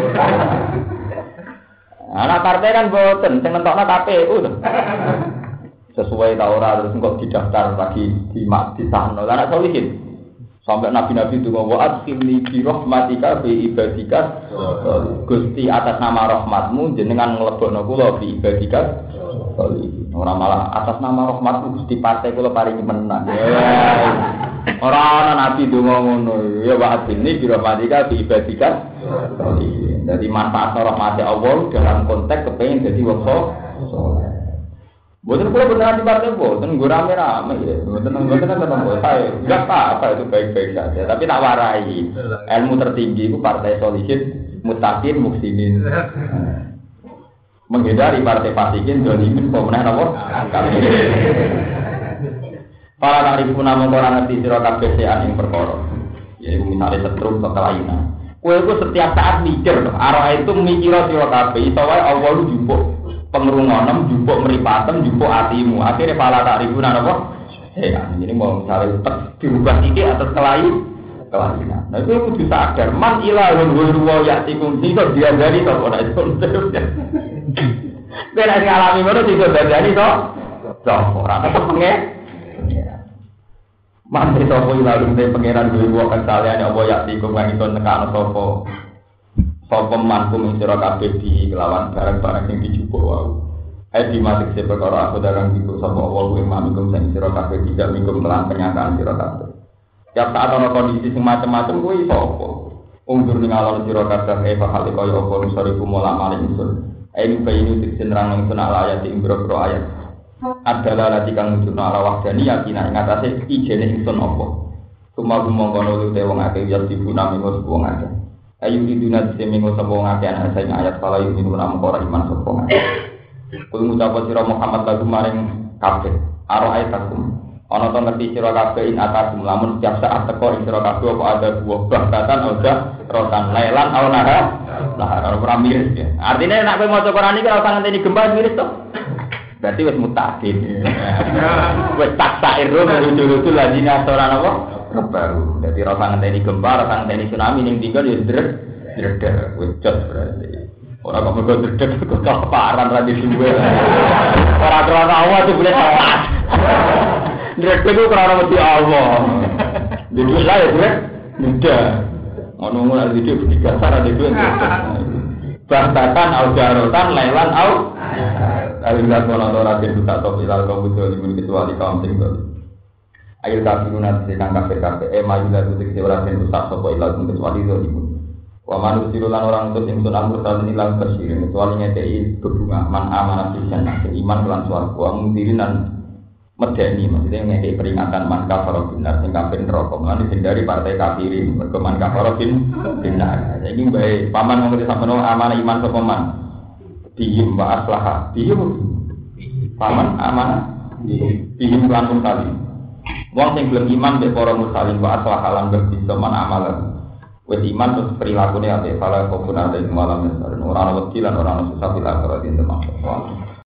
Anak partai kan boten sing nentokno KPU to. Sesuai ta ora terus engko didaftar lagi di sana. Lah anak Solihin sampai nabi-nabi itu ngomong adkhilni bi rahmatika bi ibadika Gusti atas nama rahmatmu jenengan nglebokno kula bi ibadika ora malah atas nama rahmatmu Gusti partai kula paringi menang ora ana nabi donga ngono ya wa adkhilni bi rahmatika bi ibadika dadi manfaat rahmat Allah dalam konteks kepengin dadi wong saleh. Boten kula beneran di partai boten nggo rame-rame ya. Boten ketemu saya. Enggak apa itu baik-baik saja, tapi tak warai. Ilmu tertinggi itu partai Solihin, Mutakin, Muksinin. Menghindari partai Fasikin, Dolimin, pemenang nomor kami. Para tarifun namung ora ngerti sira kabeh sean ing perkara. Yaiku misale setrum atau kelainan. Kowe iku setiap saat mikir, arah itu mikir sira kabeh, iso wae Allah lu jumpuk pengrungonem jupuk meripatem jupuk atimu akhirnya pala tak ribuan apa ya ini mau misalnya dirubah sedikit atas kelainan nah itu kudu sadar man ilahun wa ya'tikum itu dia dari to ora itu ben nek alami ngono iso dadani to ora tetep pengen man itu apa ilahun te pangeran wa kesaleane apa ya'tikum kang iso nekano sapa mankum sira kabeh di kelawan barang-barang sing dijupuk wae. Ai dimatik se perkara aku darang iku sapa Allah mankum sing sira kabeh tidak mingkum kelan kenyataan sira kabeh. Ya saat ana kondisi sing macam-macam kuwi iso apa? Undur ning alon sira kabeh hal kaya apa nusariku mola malih ingsun. Ai bayinu tiksen rang ingsun ala ayat ing boro ayat. Adalah lati kang nunjukna ala wahdani yakin ing atase ijene ingsun apa. Cuma mongkono lu te wong akeh ya dibunami wong akeh. Ayu iduna semingo sapa ngake ana sing ayat fala yu'minu lam ora iman sapa ngake. Kuwi ngucap sira Muhammad lagu maring kabeh. Aro ayatakum. Ana to ngerti sira kabeh in atakum lamun setiap saat teko ing sira kabeh apa ada buah bahkan udah rotan lailan au nahar. Lah ora miris ya. Artinya nek kowe maca Quran iki ora usah ngenteni gempa miris to. Berarti wis mutakin. Wis taksairun rujuk-rujuk lagi ora napa? Kebaru. Jadi rasa ngenteni gempa, rasa ngenteni tsunami ning tinggal ya dreder, wujud berarti. Ora kok mergo dreder kok keparan ra disuwe. Ora krana Allah itu boleh tepat. Dreder ku krana mesti Allah. Jadi saya dreder mudah. Ngono-ngono ada video tiga cara itu. Bahkan aujarotan lailan au. Alhamdulillah kalau orang tidak tak tahu ilal kaum itu kecuali kaum tinggal. Ayo kafirun nanti kang kafir maju lalu tegese ora ben rusak sapa ilal kecuali itu ibu. Wa manusirulan orang untuk ingsun amur dalil ilang kasirin kecuali ngekei berbunga man amanah pisan iman kelan swarga wa mundirinan medeni maksudnya ngekei peringatan man kafara binar sing kafir neraka lan hindari partai kafirin mergo man kafara binar. Saiki bae paman ngerti sampeyan amanah iman sapa man. Dihim wa aslaha. Dihim paman amanah dihim lan tali. Wong sing gelem iman mek para mursalin wa aslah alam bersih man amalan. Wis iman terus perilakune ate salah kok benar ing malam ora ana wedi lan ora ana susah bila ora dinten maksud.